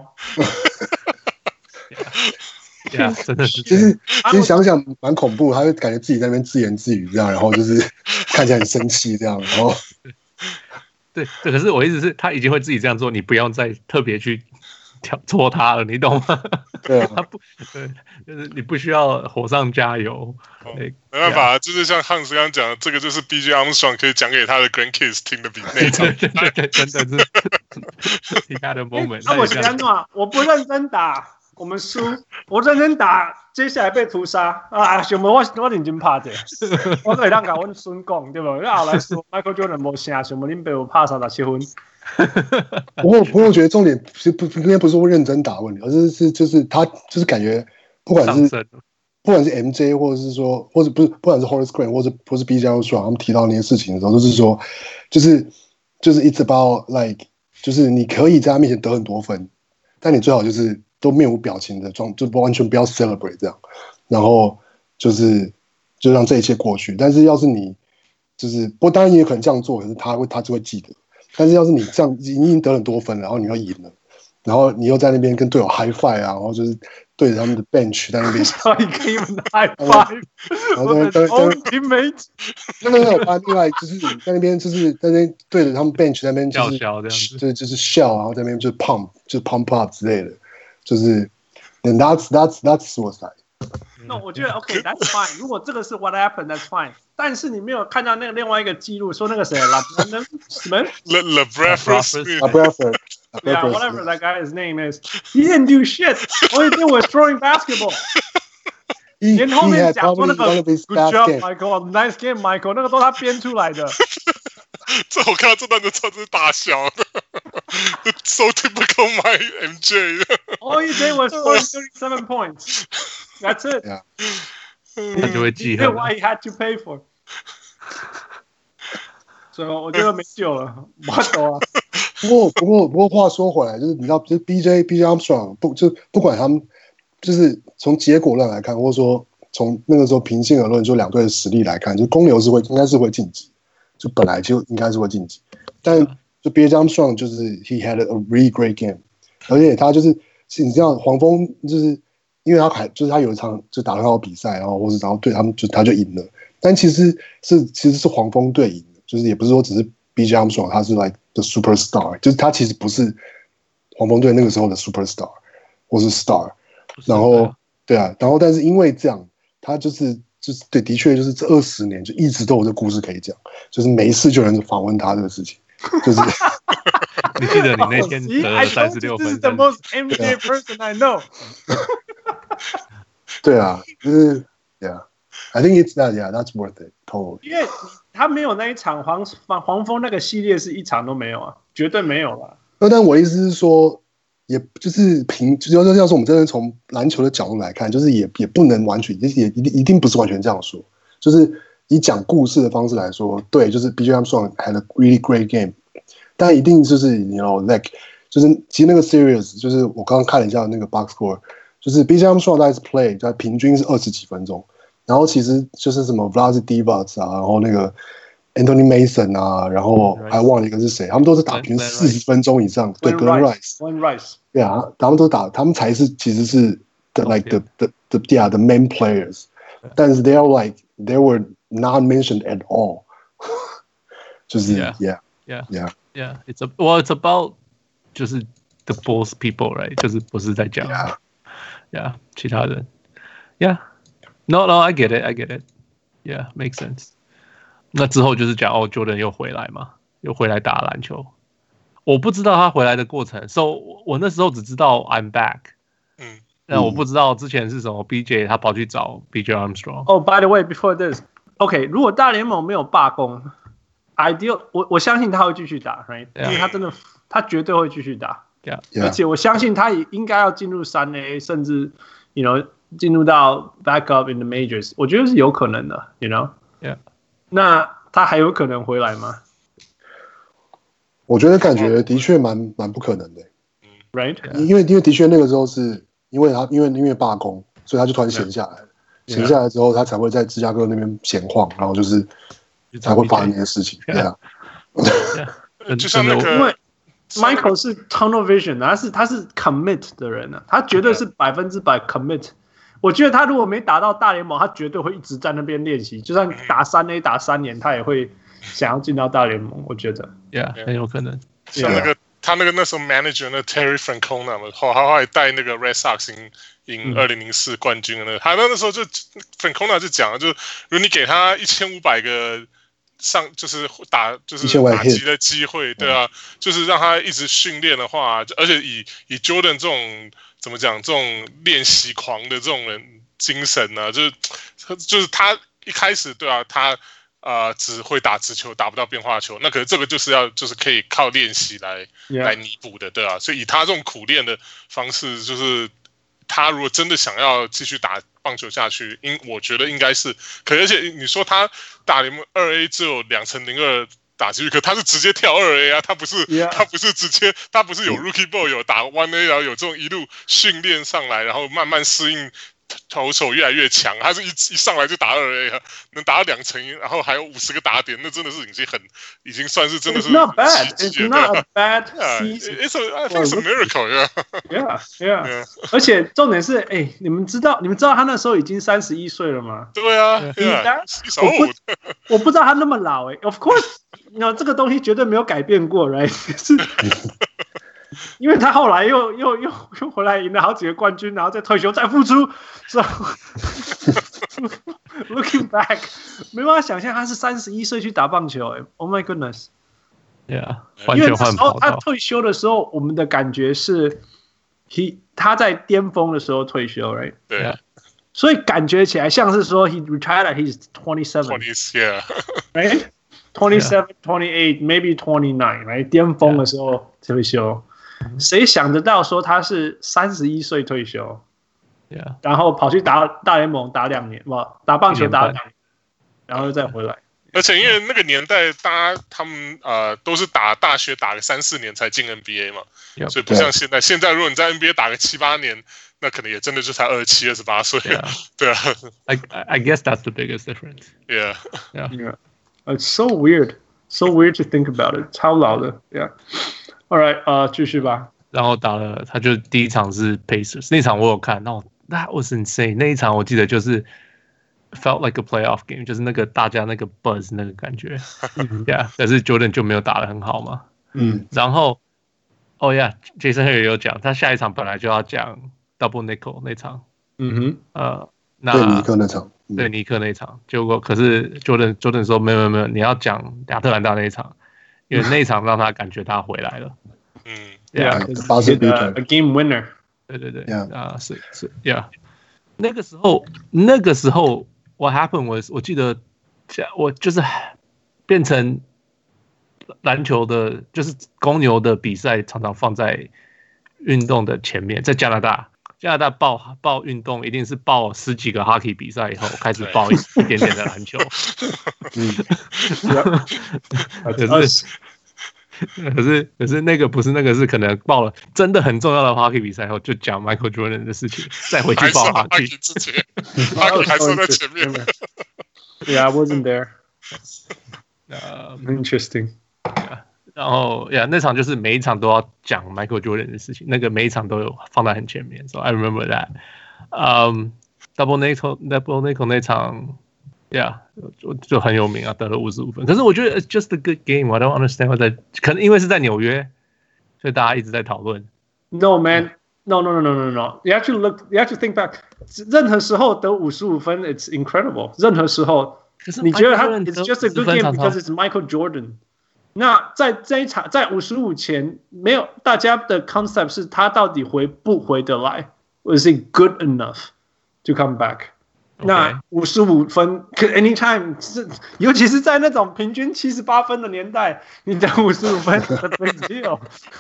真的是， 其實想想蠻恐怖，他會感覺自己在那邊自言自語這樣，然後就是看起來很生氣這樣，然後對，可是我意思是，他已經會自己這樣做，你不用再特別去戳他了，你懂嗎？ 對啊， 對，就是你不需要火上加油。 沒辦法，就是像漢斯剛剛講的，這個就是 BJ Armstrong 可以講給他的 grandkids 聽的比那場， 對，真的是he had a moment。 那我喜歡嘛，我不認真打。我們輸，我認真打，接下來被屠殺啊！什麼我認真拍的，我可以讓甲阮孫講，對不？因為後來說 Michael Jordan 沒勝，什麼恁爸有拍37分。 我覺得重點應該不是說認真打問題，而是就是他就是感覺不管是 MJ 或者是說，或者不管是 Horace Grant 或是 BJ Armstrong 他們提到那些事情的時候，就是說就是 it's about like 就是你可以在他面前得很多分，但你最好就是都面無表情的就完全不要 celebrate 這樣，然後就讓這一切過去。但是要是你就是不过当然也有可能這樣做，可是他就會記得。但是要是你這樣已經得很多分了，然後你要贏了，然後你又在那邊跟隊友 high five 啊，然後就是對着他們的 bench 在那邊 high five， 然后在 teammate， 没有，另外就是在那邊对着他們 bench 在那邊就是笑，然後在那邊就是 pump up 之類的，就是 and that's suicide。 那我覺得 OK，that's fine。如果這個是 what happened，that's fine。但是你沒有看到那個另外一個記錄，說那個誰 ，LeBradford， whatever that guy's name is, he didn't do shit. All he did was throwing basketball. 連後面講說那個 good job Michael, nice game Michael， 那個都是他編出來的。 這我看到這段就超級大笑的，so typical my MJ。 All he did was score 37 points. That's it. 他就會記恨。 Why he had to pay for？ 所以我覺得沒救了，我懂啊。 不過話說回來，就是你知道，就是 BJ Armstrong 不管他們，就是從結果論來看，或者說從那個時候平心而論，就兩隊的實力來看，就公牛應該是會晉級，就本來就應該是會晉級。但就 BJ Armstrong 就是 he had a really great game， 而且他就是你知道黄蜂就是因為他有一場就打很好比賽，然後對他们他就贏了，但其實是黃蜂隊贏的，就是也不是說只是 BJ Armstrong 他是 like the superstar， 就是他其實不是黃蜂隊那個時候的 superstar 或是 star， 然後對啊，然後但是因為這樣，他就是對，的確就是這20年就一直都有這故事可以講，就是沒事就有人訪問他這個事情，就是你記得你那天得了36分， This is the most MJ person I know 。 對啊，就是，Yeah，I think it's that's worth it totally。 因為他沒有那一場黃蜂那個系列是一場都沒有啊，絕對沒有啦。 但我的意思是說，也就是要是我們真的從籃球的角度來看，就是也不能完全，也一定不是完全這樣說。就是以講故事的方式來說，對，就是 BJ Armstrong had a really great game， 但一定就是like 就是其實那個 series 就是我剛剛看了一下那個 box score， 就是 BJ Armstrong 在 play 在平均是20幾分鐘，然後其實就是什麼 Vlade Divac 啊，然後那個 Anthony Mason 啊，然後還忘了一個是誰，他們都是打平40分鐘以上。對 ，Glenn Rice， 對啊，他們都打，他們才是其實是 the main players， 但是 they were not mentioned at all， 就是 it's about 就是 the Bulls people right， 就是不是在講其他人 no I get it yeah makes sense。那之後就是講Jordan 又回來嘛，又回來打籃球。我不知道他回來的過程 ，so 我那時候只知道 I'm back， 那我不知道之前是什麼 BJ 他跑去找 BJ Armstrong。 by the way, before this, OK， 如果大聯盟沒有罷工 ，ideal， 我相信他會繼續打 ，right？ 因為他絕對會繼續打，而且我相信他也應該要進入3A， 甚至進入到 back up in the majors， 我覺得是有可能的 ，yeah。 那他還有可能回來嗎？ 我覺得感覺的確蠻不可能的 ，right？ 因為的確那個時候是因為罷工，所以他就突然閒下來了。閒下來之後，他才會在芝加哥那邊閒晃，然後就是才會發生那些事情。對啊， 就像那個， 因為 Michael 是 tunnel vision， 他是 commit 的人啊，他絕對是100% commit。我覺得他如果沒打到大聯盟，他絕對會一直在那邊練習，就算打3A 打3年，他也會想要進到大聯盟。我覺得很有可能。 像他那時候 manager 那 Terry Francona 嘛，他後來帶那個 Red Sox 贏2004冠軍的那個，他那時候就 Francona 就講了，就是如果你給他1500個就是打擊的機會，對啊，就是讓他一直訓練的話，而且以 Jordan 這種。怎麼講？這種練習狂的這種人精神呢、啊？就是他一開始對啊，他只會打直球，打不到變化球。那可是這個就是可以靠練習來彌補的，對啊。所以以他這種苦練的方式，就是他如果真的想要繼續打棒球下去，我覺得應該是可以。而且你說他打聯盟2A只有2002 打進去，可他是直接跳2A 啊，他不是直接，他不是有 Rookie Ball 有打 1A， 然後有這種一路訓練上來，然後慢慢適應投手越來越強，他是一上來就打2A 啊，能打到2成，然後還有50個打點，那真的是已經算是真的是 It's not bad. It's not a bad season. I think it's a miracle. Yeah. 而且重点是，你们知道他那时候已經31歲了嗎？ 對啊， 我不知道他那麼老Of course， 這個東西絕對沒有改變過 ，right？ 因為他後來又回來贏了好幾個冠軍，然後再退休再復出 ，so looking back， 沒辦法想象他是31歲去打棒球，Oh my goodness！Yeah， 因為那時候他退休的時候，我們的感覺是他在巔峰的時候退休 ，right？ 對， 所以感覺起來像是說 he retired at he's 27，right？ 27, 28, maybe 29，right？ 巔峰的時候退休。誰想得到說他是31歲退休，然後跑去打大聯盟打2年，打棒球打2年，然後又再回來。 而且因為那個年代，他們都是打大學打個3-4年才進 NBA 嘛，所以不像現在。現在如果你在 NBA 打個7-8年，那可能也真的就才27、28歲。對啊。 I guess that's the biggest difference. Yeah. It's so weird to think about it. 超老的 ，Yeah.All right， 繼續吧。 然後打了，他就第一場是 Pacers， 那場我有看，那 that was insane。那一場我記得就是 felt like a playoff game， 就是那個大家那個 buzz 那個感覺，Yeah。但是 Jordan 就沒有打得很好嘛，然後Jason Hurd 也有講，他下一場本來就要講 Double Nickel 那場， 那對尼克那場， 對尼克那場，結果可是 Jordan 說沒有，你要講亞特蘭大那一場。因為那一場讓他感覺他回來了 ，Yeah， a game winner， 對是 ，Yeah， 那個時候 ，What happened was， 我記得我就是變成籃球的，就是公牛的比賽常常放在運動的前面，在加拿大報運動一定是報10幾個 hockey 比賽以後開始報一點點的籃球，可是那個不是那個是可能報了真的很重要的 hockey 比賽後就講 Michael Jordan 的事情，再回去報 hockey 之前，hockey 還是在前面。 Yeah, I wasn't there. Interesting. 然後那場就是每一場都要講 Michael Jordan 的事情，那個每一場都有放在很前面。So I remember that. Double Nickel 那場 就很有名啊，得了55分。可是我覺得 it's just a good game. I don't understand why 可能因為是在紐約，所以大家一直在討論。 No man, no. You have to think back. 任何時候得55分 ，it's incredible. 任何時候，你覺得他 it's just a good game because it's Michael Jordan. 那在這一場，在55前，沒有大家的 concept 是他到底回不回得來 ？Was it good enough to come back？ 那55分，可 anytime 是，尤其是在那種平均78分的年代，你得55分 ，that's big deal。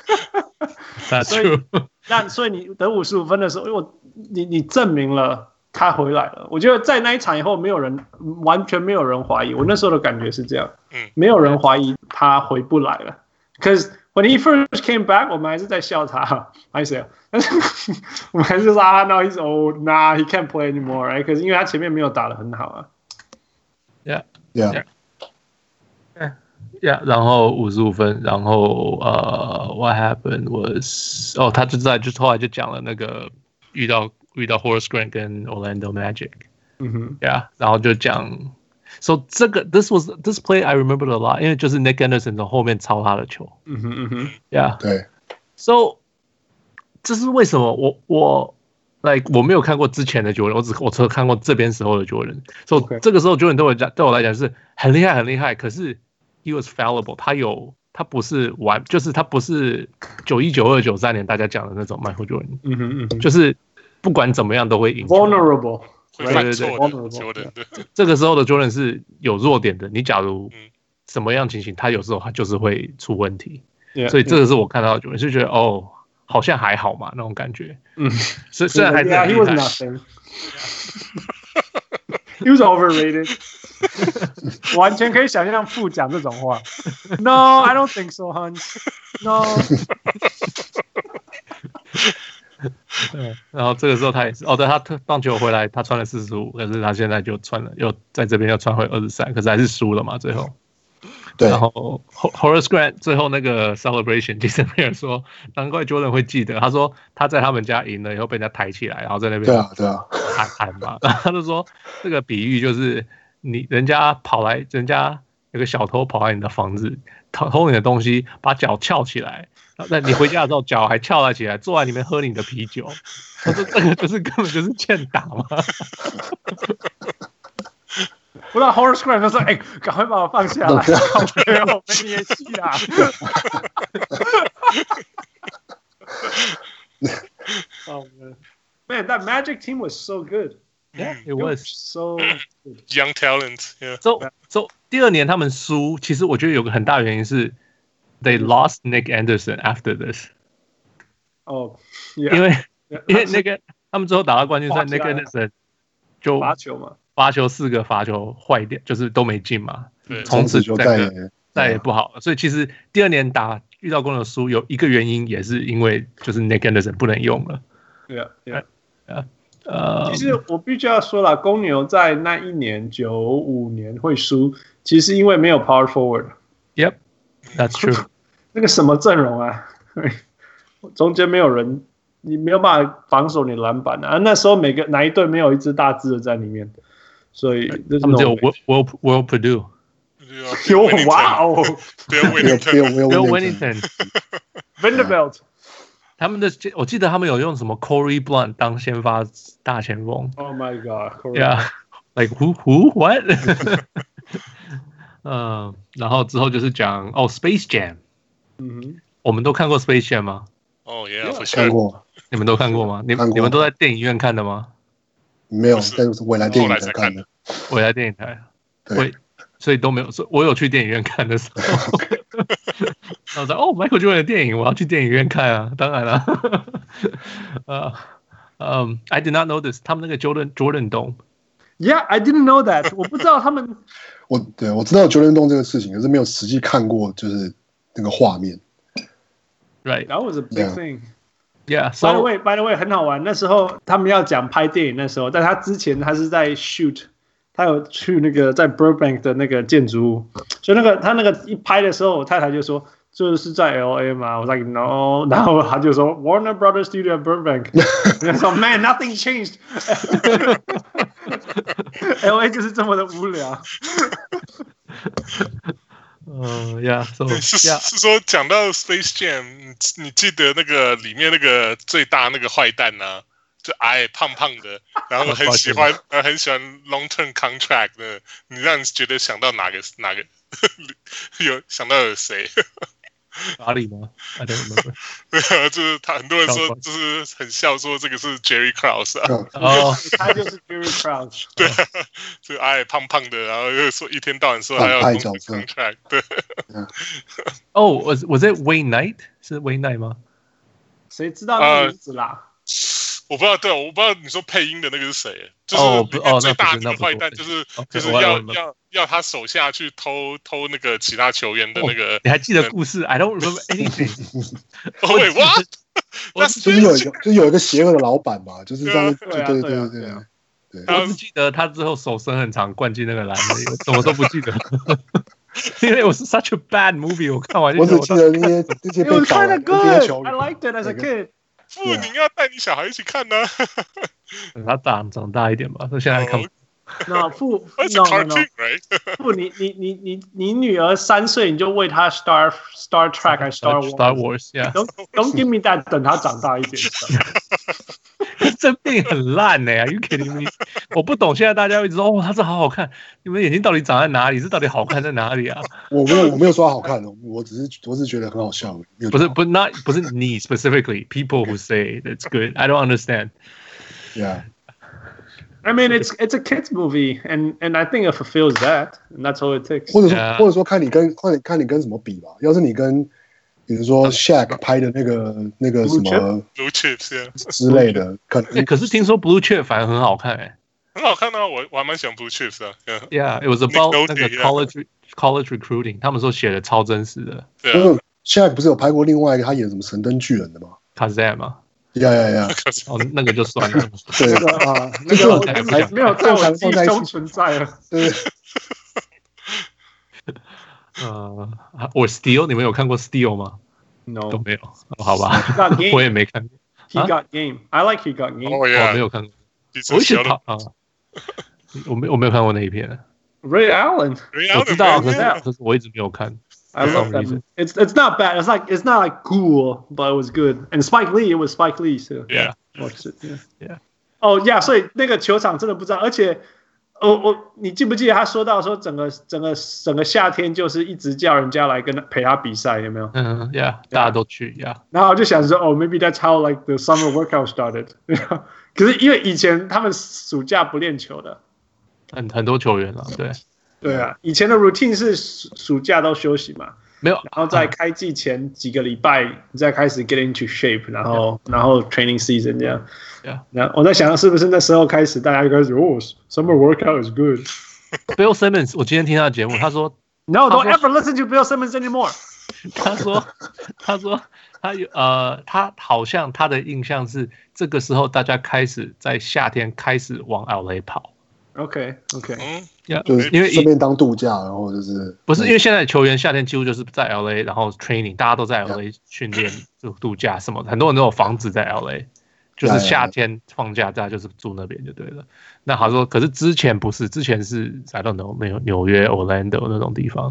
所以你得55分的時候，你證明了他回來了。我覺得在那一場以後，完全沒有人懷疑。我那時候的感覺是這樣，沒有人懷疑他回不來了。Because when he first came back， 我們還是在笑他，還是我們還是說now he's old， he can't play anymore，right？ 可是因為他前面沒有打得很好啊。 Yeah， 然後55分，然後what happened was， 他就是後來就講了那個遇到 Horace Grant 跟 Orlando Magic， 然後就講 ，so this play I remembered a lot， 因為就是 Nick Anderson 從後面抄他的球對 ，so 這是為什麼我沒有看過之前的 Jordan， 我只看過這邊時候的 Jordan，so 這個時候 Jordan 對我來講是很厲害，可是 he was fallible， 他不是就是他不是91、92、93年大家講的那種 Michael Jordan，就是不管怎麼樣都會贏 ，vulnerable， 會犯錯的 Jordan。 這個時候的 Jordan 是有弱點的，你假如什麼樣情形，他有時候他就是會出問題，所以這個是我看到的 Jordan， 就覺得好像還好嘛那種感覺，雖然還是很厲害。 He was overrated. 完全可以想象父講這種話。No, I don't think so, Hans. No. 对，然後這個時候他也是，對，他棒球回來，他穿了45，可是他現在就穿了，又在這邊又穿回23，可是還是輸了嘛，最後。 對。 然後 Horace Grant 最後那個 celebration，Jason Pierre 說，難怪 Jordan 會記得，他說他在他們家贏了以後被人家抬起來，然後在那邊對啊喊嘛，然後他就說這個比喻就是人家有個小偷跑來你的房子偷你的東西，把腳翹起來。那你回家的時候腳還翹了起來，坐在裡面喝你的啤酒。他說這個就是根本就是欠打嘛。 不知道 Horace Grant 就說：“哎，趕快把我放下來，沒有沒演戲啦。” Oh man, that Magic team was so good. Yeah, it was so good. Young talent. Yeah. So 第二年他們輸，其實我覺得有個很大原因是 they lost Nick Anderson after this. 哦， 因為那個他們最後打到冠軍賽，Nick Anderson 就罰球嘛。 罰球4個罰球壞掉，就是都沒進嘛，從此就再也不好了。所以其實第二年遇到公牛輸，有一個原因也是因為就是 Nick Anderson 不能用了。 其實我必須要說啦，公牛在那一年95年會輸，其實因為沒有 power forward。 Yep, that's true. 那個什麼陣容啊，中間沒有人，你沒有辦法防守你的籃板啊。那時候哪一隊沒有一支大隻的在裡面？所以他們只有 Will Purdue， 有哇哦， 对 Winnington Vanderbilt， 他們的我記得他們有用什麼 Corey Blunt 當先發大前鋒。 Oh my god！ Yeah， like who what？ 然後之後就是講Space Jam。我們都看過 Space Jam 嗎？ 哦 ，Yeah， 看過。 你們都看過嗎？你們都在電影院看的嗎？ 沒有，但是未來電影台看的。 未來電影台，所以都沒有。我有去電影院看的時候，然後說Michael Jordan 的電影，我要去電影院看啊，當然了。I did not know this， 他們那個 Jordan Dome。Yeah, I didn't know that 。我不知道他們。 我知道 Jordan Dome 這個事情，可是沒有實際看過，就是那個畫面。 Right, that was a big thing. Yeah. By the way, 很好玩。那時候他們要講拍電影，那時候，但他之前他是在 shoot， 他有去那個在 Burbank 的那個建築物，所以他那個一拍的時候，我太太就說這是在 LA 嗎？我說 No， 然後他就說 Warner Brothers Studio Burbank， 我說 Man, nothing changed 。LA 就是這麼的無聊。 是說講到 Space Jam， 你記得那個裡面那個最大那個壞蛋啊，就矮胖胖的，然後很喜歡 long term contract 的，你讓你覺得想到哪個有想到有誰？ 哪裡嗎 ？I don't remember。 對啊，就是他很多人說，就是很笑說這個是 Jerry Krause 啊。 他就是 Jerry Krause。 對啊，就矮胖胖的，然後又說一天到晚說還要 contract。對。 Was it Wayne Knight？ 是 Wayne Knight 嗎？ 誰知道那個名字啦？ 我不知道，對，我不知道你說配音的那個是誰，就是裡面最大的壞蛋，就是要他手下去偷那個其他球員的那個。 你還記得故事 ？I don't remember anything。 Wait, what？ 就是有一個邪惡的老闆嘛，就是這樣。對。 我只記得他之後手伸很長，灌進那個籃裡，什麼都不記得。因為我是 such a bad movie， 我看完就。 我只記得那些被打的 NBA 球員。I liked it as a kid。 父，你要帶你小孩一起看呢。 他長大一點吧，他現在看。 No， 父，你女兒3歲，你就餵她 Star Trek 還是 Star Wars？Don't give me that， 等她長大一點。 這電影很爛呢 ，Are you kidding me？ 我不懂，現在大家一直說它是好好看，你們眼睛到底長在哪裡？是到底好看在哪裡啊？ 我沒有說好看，我只是覺得很好笑。 不是你 specifically people who say that's good. I don't understand. Yeah. I mean, it's a kids movie, and I think it fulfills that, and that's all it takes. 或者說看你跟什麼比吧。要是你跟比如說 Shaq 拍的那個什麼 Blue Chips 之類的， 可是聽說 Blue Chip 反而很好看哎。 很好看啊，我還蠻喜歡 Blue Chips 的。 Yeah, it was about 那個 college recruiting， 他們說寫的超真實的。 对啊。 Shaq 不是有拍過另外一個他演什麼神燈巨人的嗎 ？Kazam 嗎？ 呀， 哦，那個就算了。 對啊，那個沒有在我記憶中存在了。對。 我 Steel， 你們有看過 Steel 嗎 ？No， 都沒有。好吧，我也沒看過。 He Got Game，I like He Got Game。 我沒有看過。我一直跑啊，我沒有看過那一片。 Ray Allen， 我知道，可是我一直沒有看。 I love that. It's not bad. It's not like cool, but it was good. And Spike Lee, it was Spike Lee. So yeah, watched it. Yeah. Oh yeah. 所以那個球場真的不知道，而且你記不記得他說到說整個夏天就是一直叫人家來陪他比賽，有沒有 ？Yeah， 大家都去 Yeah。 然後我就想說maybe that's how like the summer workout started. 可是因為以前他們暑假不練球的， 很多球員啊，对。 对啊，以前的 routine 是暑假都休息嘛， 沒有， 然後在開季前幾個禮拜你再開始 get into shape， 然後 training season 這樣。然後我在想是不是那時候開始大家就開始summer workout is good。 Bill Simmons， 我今天聽他的節目，他說 No, don't ever listen to Bill Simmons anymore。 他說他好像他的印象是這個時候大家開始在夏天開始往 LA 跑。 OK， 就是因為順便當度假，然後就是不是因為現在球員夏天幾乎就是在 LA， 然後 training， 大家都在 LA 訓練就度假什麼的，很多人都有房子在 LA， 就是夏天放假大家就是住那邊就對了。那他說，可是之前不是，之前是 I don't know， 沒有紐約 Orlando 那種地方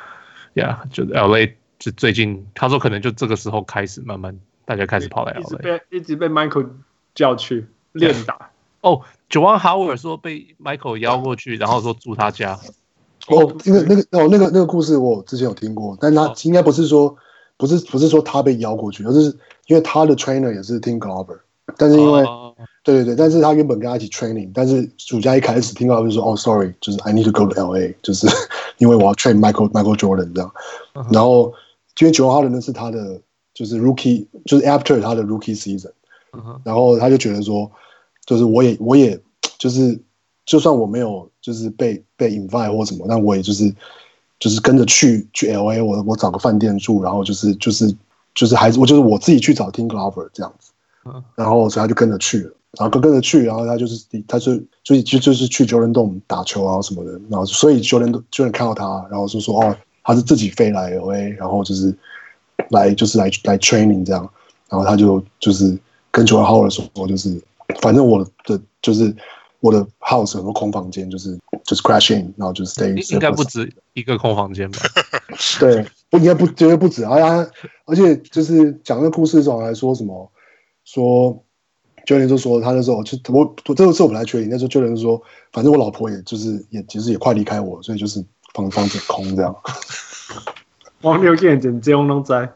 ，Yeah， 就 LA 就最近他說可能就這個時候開始慢慢大家開始跑來 LA， 一直被 Michael 叫去練打。 Juwan Howard 說被 Michael 邀過去，然後說住他家。 那個故事我之前有聽過，但他應該不是說他被邀過去，而是因為他的 trainer 也是 Tim Glover， 但是因為對，但是他原本跟他一起 training， 但是暑假一開始 Tim Glover 就說sorry， 就是 I need to go to LA， 就是因為我要 train Michael Jordan 這樣。然後因為 Juwan Howard 那是他的就是 rookie， 就是 after 他的 rookie season， 然後他就覺得說。就是我也就是就算我沒有就是被 invite 或什麼，但我也就是跟着去 LA， 我找個飯店住，然後就是還是我自己去找 Tim Glover 這樣子，然後所以他就跟着去了，然後跟着去，然後他就是去 Jordan Dome 打球啊什麼的，然後所以 Jordan 看到他，然後就說他是自己飛來 LA， 然後就是來 training 這樣，然後他就是跟 Juwan Howard 說就是反正我的 house 很多空房間，就是 crash in， 然後就是 stay。 應該不止一個空房間吧？ 對，應該絕對不止。而且就是講那個故事的時候還說什麼，說 Jordan 就說他那時候就這個是我不太確定，那時候 Jordan 就說，反正我老婆其實也快離開我，所以就是房子空這樣。 王六見證這樣攏知。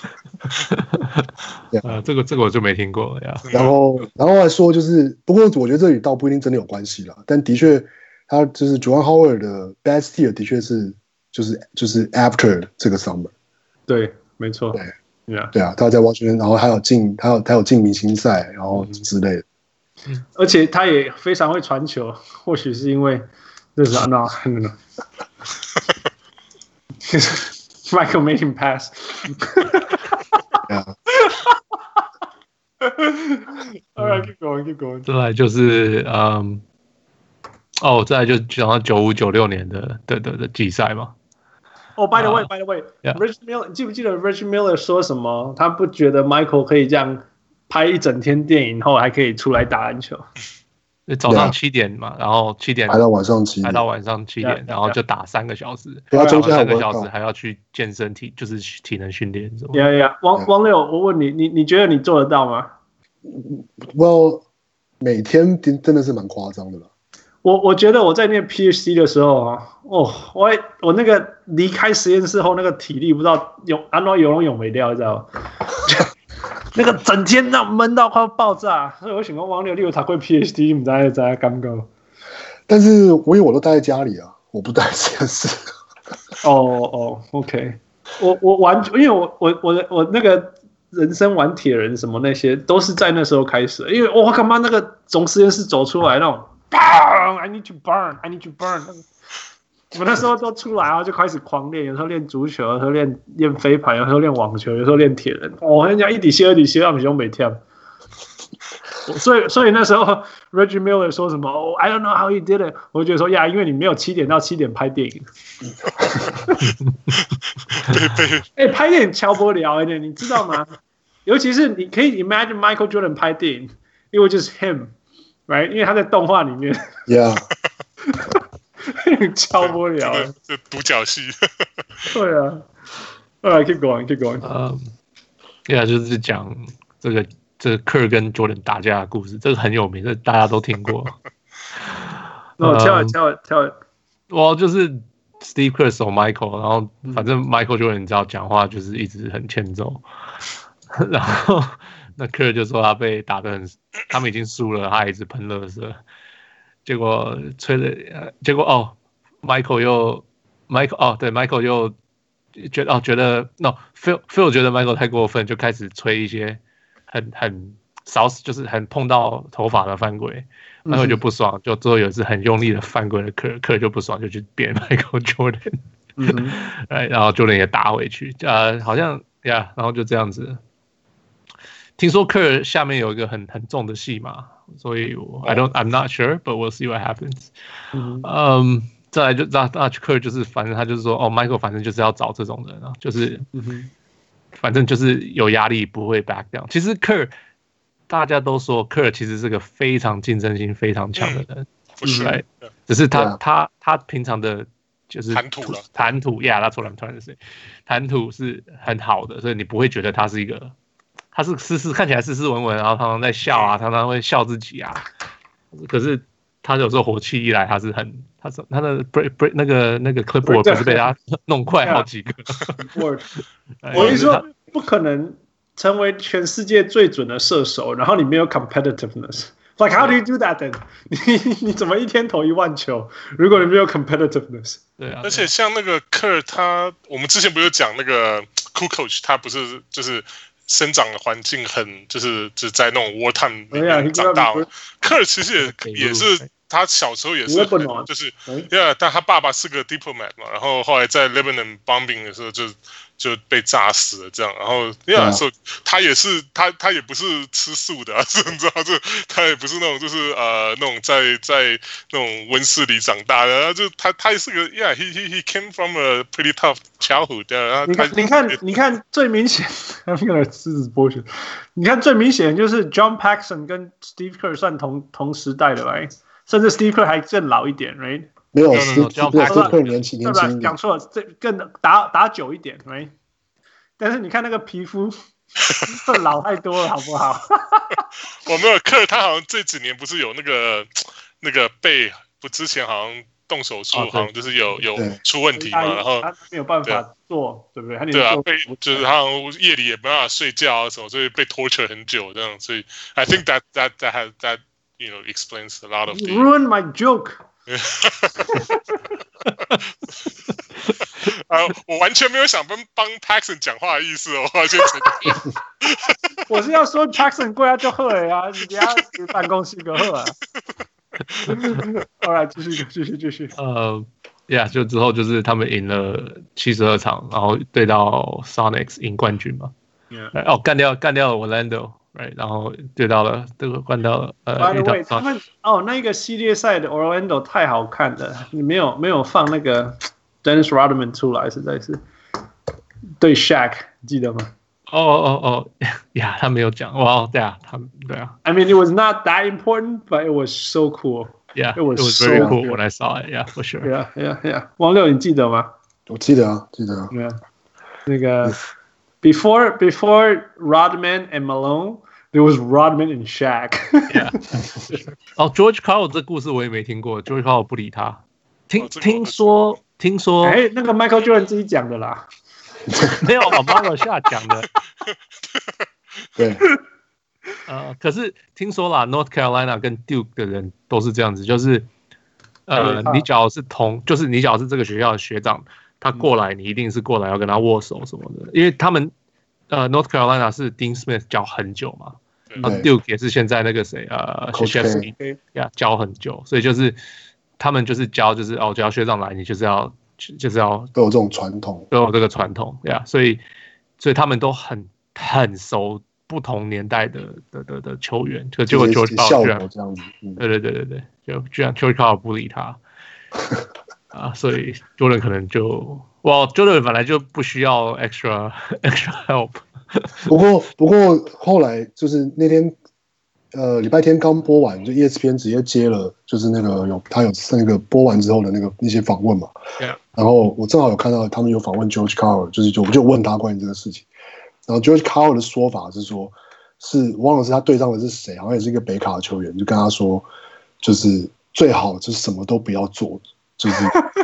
這個我就沒聽過呀。 然後還說就是，不過我覺得這裡倒不一定真的有關係啦，但的確，他就是 Juwan Howard 的 best year 的確是就是 after 這個 summer。 對，沒錯。 對啊，他在 Washington， 然後他有進明星賽，然後之類的。 而且他也非常會傳球，或許是因為就是 no Michael made him pass. Yeah. All right, keep going. 再來就是再來就講到95-96年的季賽嘛。 by the way, Rich Miller， 你記不記得 Rich Miller 說什麼？他不覺得 Michael 可以這樣拍一整天電影後還可以出來打籃球。 早上7點嘛，然後7點排到晚上7點， 然後就打3個小時， 然後3 個小時還要去健身就是體能訓練。 王六，我問你觉得你做得到嗎 ？Well， 每天真的是蠻誇張的啦。 我覺得我在念 PhD 的時候啊，我那個離開實驗室後那個體力不知道安怎游泳沒掉，你知道嗎？那個整天那悶到快要爆炸，所以我想說王六你有讀過 PhD， 你不知道感覺。 但是我都待在家裡啊，我不待實驗室。 OK， 我完全因為我那個人生玩鐵人什麼那些都是在那時候開始的，因為我幹嘛那個從實驗室走出來那種啪 burn，I need to burn，I need to burn。我那时候都出来，然後就開始狂練，有時候練足球，有時候練飛盤，有時候練網球，有時候練鐵人。我跟你講，一滴血二滴血，我們兄每天。所以那時候 Reggie Miller 說什麼I don't know how he did it， 我就覺得說呀，因為你沒有7點到7點拍電影。拍電影敲不了你知道嗎？尤其是你可以 imagine Michael Jordan 拍電影，因為就是 him，right？ 因為他在動畫裡面。 Yeah 敲不了， 這獨角戲。 對啊。Alright, keep going. Yeah， 就是講這個 Kerr 跟 Jordan 打架的故事，這個很有名，這大家都聽過。 tell it. 我就是 Steve Kerr 守 Michael， 然後反正 Michael Jordan 你知道講話就是一直很欠揍，然後那 Kerr 就說他被打得很，他們已經輸了，他還一直噴垃圾。結果Michael 又覺得 Phil 覺得 Michael 太過分，就開始吹一些很少，就是很碰到頭髮的犯規，Michael 就不爽，就最後有一次很用力的犯規的Kerr就不爽，就去扁 Michael Jordan，然後 Jordan 也打回去，好像然後就這樣子。聽說 Kerr 下面有一個很重的戲碼。所以 I'm not sure, but we'll see what happens. 再來就Kerr 就是反正他就是說Michael 反正就是要找這種人啊，就是反正就是有壓力不會 back down。其實 Kerr 大家都說 Kerr 其實是個非常競爭性非常強的人， right？ 只是他平常的就是談吐 ，that's what I'm trying to say， 談吐是很好的，所以你不會覺得他是一個。他是看起來斯斯文文，然後常常在笑啊，常常會笑自己啊。可是他有時候火氣一來，他的那個 clipboard 不是被他弄壞好幾個。 我跟你說，不可能成為全世界最準的射手，然後你沒有 competitiveness。Like how do you do that then？ 你怎麼一天投1萬球？如果你沒有 competitiveness？ 對啊。 而且像那個 Kerr， 我們之前不是講那個 Kukoc， 他不是就是生長的環境很就是在那種 wartime 裡面長大。Kerr 其實也是他小時候也是就是但他爸爸是個 diplomat 嘛，然後後來在 Lebanon bombing 的時候就被炸死了，這樣，然後所以他也是他也不是吃素的，你知道，就他也不是那種就是那種在那種溫室裡長大的，然後就他也是個 he came from a pretty tough childhood。 你看最明顯，你看最明顯就是 John Paxson 跟 Steve Kerr 算同時代的 ，right？ 甚至 Steve Kerr 還更老一點 ，right？ 沒有 Steve Kerr 年輕一點， 講錯了，這更打久一點 ，right？ 但是你看那個皮膚老太多了，好不好？ 我沒有Kerr，他好像這幾年不是有那個背不之前好像動手術，好像就是有出問題嘛，然後他沒有辦法做，對不對？ 對啊，就是他好像夜裡也沒辦法睡覺啊什麼，所以被 torture 很久這樣，所以 I think that explains a lot of you ruined my joke。 我完全沒有想幫 Paxson 講話的意思哦，我先承認。 我是要說 Paxson 過來就好了呀，你等下辦公室就好啊。好來，繼續。 就之後就是他們贏了72場，然後對到 Sonics 贏冠軍嘛。幹掉了 Orlando。Right, 然後對到了這個關到了 By the way， 他們那個系列賽的 Orlando 太好看了，你沒有放那個 Dennis Rodman 出來，實在是對 Shaq 記得嗎？ 他沒有講，哇，對啊。 I mean, it was not that important, but it was so cool. Yeah, it was so very cool when I saw it. Yeah, for sure. Yeah. 王六，你記得嗎？ 我記得啊。 Yeah, 那個 before Rodman and Malone。There was Rodman and Shaq. George Karl 這故事我也沒聽過 ，George Karl 不理他。聽說， 那個 Michael Jordan 自己講的啦， 沒有，我 Marlo 下講的。 對， 可是聽說啦 ，North Carolina 跟 Duke 的人都是這樣子，就是你只要是就是你只要是這個學校的學長，他過來，你一定是過來要跟他握手什麼的，因為他們。North Carolina 是 Dean Smith 教很久嘛， Duke 也是現在那個誰Krzyzewski 教很久，所以就是他們就是教就是只要學長來，你就是要都有这种傳統， 都有這個傳統呀，所以他們都很熟不同年代的球員，結果 George Karl 居然這樣子，對，就居然 George Karl 不理他所以 Jordan 可能就Jordan 本來就不需要 extra help。 不過後來就是那天禮拜天剛播完，就 ESPN 直接接了，就是他有那個播完之後的一些訪問嘛。 Yeah. 然後我正好有看到他們有訪問 George Karl， 我就問他關於這個事情。然後 George Karl 的說法是說，忘了是他對上的是誰，好像也是一個北卡的球員，就跟他說，就是最好就是什麼都不要做，就是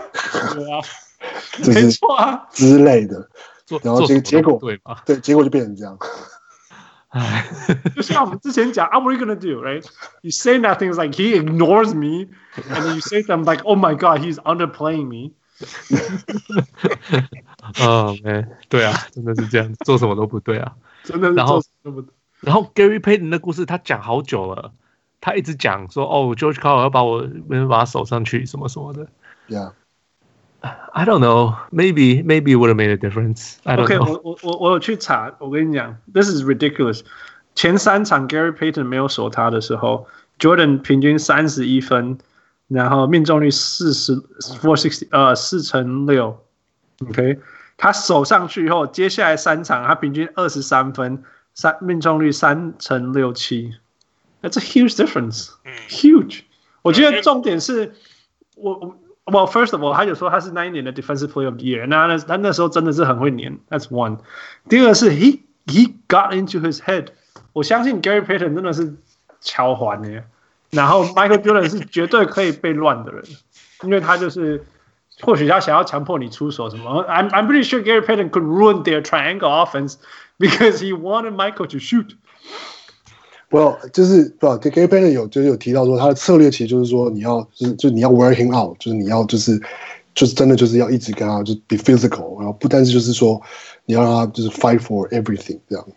就是之類的。然後結果對，結果就變成這樣。 就像我們之前講 ，What are you gonna do, right? You say nothing, it's like he ignores me, and then you say something like, "Oh my God, he's underplaying me." 對啊，真的是這樣，做什麼都不對啊， 真的是做什麼都不對。 然後 Gary Payton 的故事他講好久了，他一直講說George Karl 要把他守上去什麼什麼的。 Yeah.I don't know. Maybe it would have made a difference. I don't know. OK， 我有去查，我跟你講 ，This is ridiculous。前3場 Gary Payton 沒有守他的時候 ，Jordan 平均31分，然後命中率4/6。OK， 他守上去以後，接下來3場他平均23分，命中率3/67。That's a huge difference. Huge。我覺得重點是Well, first of all, 他就說他是那一年的 Defensive Player of the Year， 他那時候真的是很會黏 ，That's one。第二個是 he got into his head， 我相信 Gary Payton 真的是敲環的，然後 Michael Jordan 是絕對可以被亂的人，因為他就是或許他想要強迫你出手什麼。I'm pretty sure Gary Payton could ruin their triangle offense because he wanted Michael to shoot。Well， 就是Gary Payton 有提到說，他的策略其實就是說，你要你要 wear him out， 就是你要就是真的就是要一直跟他就 be physical， 然后但是就是說你要讓他就是 fight for everything 這樣，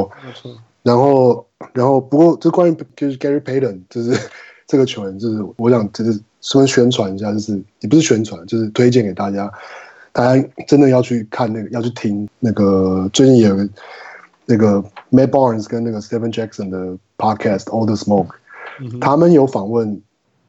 然後不過就關於就是 Gary Payton 就是這個球員，就是我想就是順便宣傳一下，就是也不是宣傳，就是推薦給大家真的要去看要去聽最近有個Matt Barnes 跟Stephen Jackson 的 podcast All the Smoke， 他們有訪問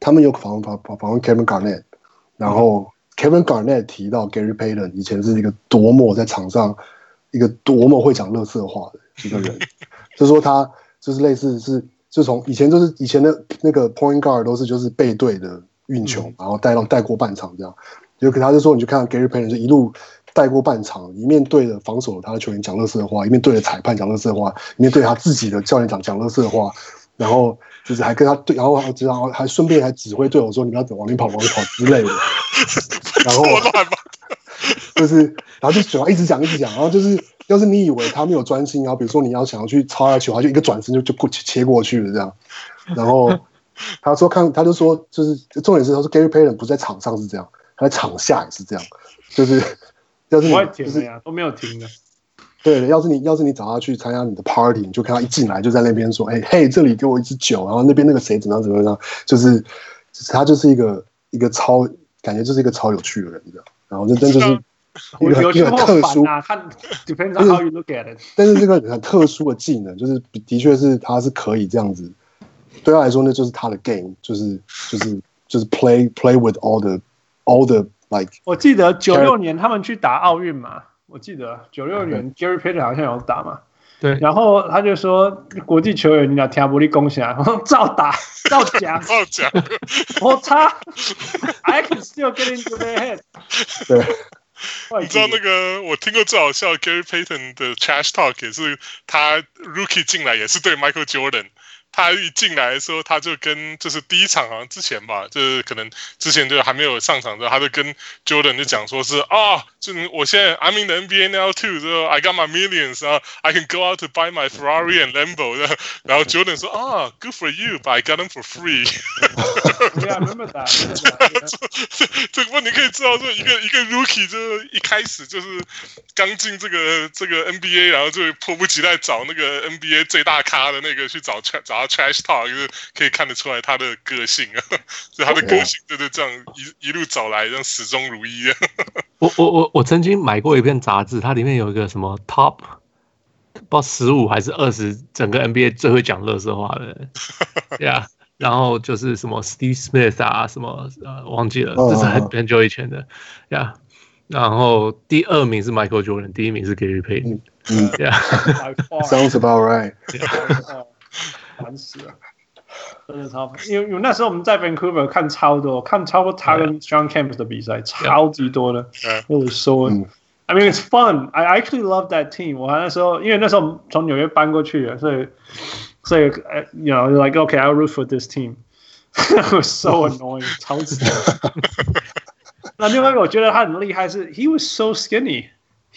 Kevin Garnett， 然後 Kevin Garnett 提到 Gary Payton 以前是一個多麼在場上一個多麼會講垃圾話的一個人，就是說他就是類似是就從以前的point guard 都是就是背對的運球，然後帶過半場這樣，就他就說你就看到 Gary Payton 就一路帶過半場，一面對着防守他的球員講垃圾話，一面對着裁判講垃圾話，一面對他自己的教練講垃圾話，然後就是還跟他對，然後還順便還指揮隊友說你們要往裡跑之類的，然後就是然後就嘴巴一直講，然後就是要是你以為他沒有專心，然後比如說你要想要去抄他球，他就一個轉身就切過去了這樣，然後他就說就是重點是他說 Gary Payton 不是在場上是這樣，他在場下也是這樣，就是要是你就是都沒有停的， 對，要是你找他去參加你的 party， 你就看他一進來就在那邊說，嘿，這裡給我一支酒，然後那邊那個誰怎麼樣，就是他就是一個感覺就是一個超有趣的人這樣，然後真就是一個很特殊， 看 depends on how you look at it， 但是這個很特殊的技能，就是的確是他是可以這樣子，對他來說那就是他的 game， 就是 play with all the like。 我記得96年他們去打奧運嘛，我記得96年 Gary Payton 好像有打嘛， 對， 然後他就說國際球員你倆聽不力攻下，照打照講，我擦 ，I can still get into their head。 對。 你知道我聽過最好笑的 Gary Payton 的 trash talk 也是他 rookie 進來也是對 Michael Jordan， 他一進來的時候，他就跟就是第一場好像之前吧，就是可能之前就還沒有上场的時候，他就跟 Jordan 就講說是就我現在 I'm in the NBA now too， so I got my millions， I can go out to buy my Ferrari and Lambo， 然後 Jordan 說good for you，but I got them for free。 Yeah, I remember that。 這個你可以知道說一個 rookie 就是一開始就是剛進這個 NBA， 然後就迫不及待找那個 NBA 最大咖的那個去找他 trash talk， 就是可以看得出來他的個性啊，所以他的個性就是這樣一路找來，這樣始終如一啊。 我曾經買過一篇雜誌，它裡面有一個什麼 top 不知道15還是20，整個 NBA 最會講垃圾話的人，Yeah， 然後就是什麼 Steve Smith 啊，什麼忘記了，這是很久以前的，Yeah。然後第2名是 Michael Jordan， 第1名是 Gary Payton。Yeah，Sounds about right。 煩死了，真的超煩。因為那時候我們在 Vancouver 看超多他跟 John Campus 的比賽，超級多的。我说 I mean it's fun. I actually love that team. 我那時候因為那时候從紐約搬過去的，所以 you know like okay I'll root for this team. It was so annoying. 超级。那另外一個我覺得他很厲害是 he was so skinny.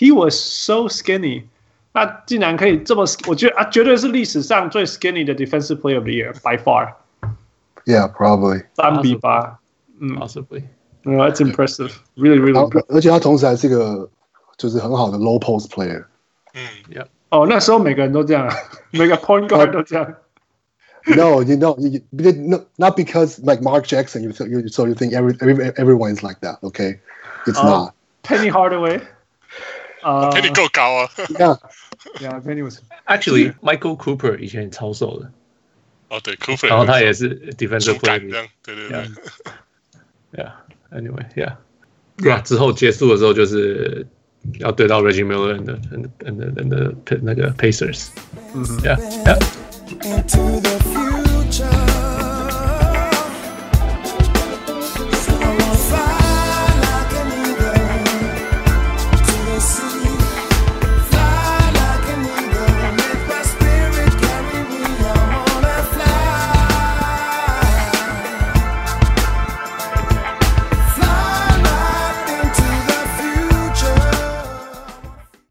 那竟然可以這麼，我覺得絕對是歷史上最 skinny 的 defensive player of the year by far. Yeah, probably. 3-8. Possibly. No, that's impressive. Really, really. 而且他同時還是一個就是很好的 low post player. Yeah. 那時候每個人都這樣，每個 point guard 都這樣。 No, not because like Mark Jackson. So you think everyone is like that? Okay, it's not. Penny Hardaway. Penny 夠高啊。 Yeah, Penny was. Actually, Michael Cooper 以前超瘦的。 对 ，Cooper。 然後他也是 defensive player。 對。 Yeah. Anyway, yeah. 之後結束的時候就是要對到 Reggie Miller and 那個 Pacers。Yeah.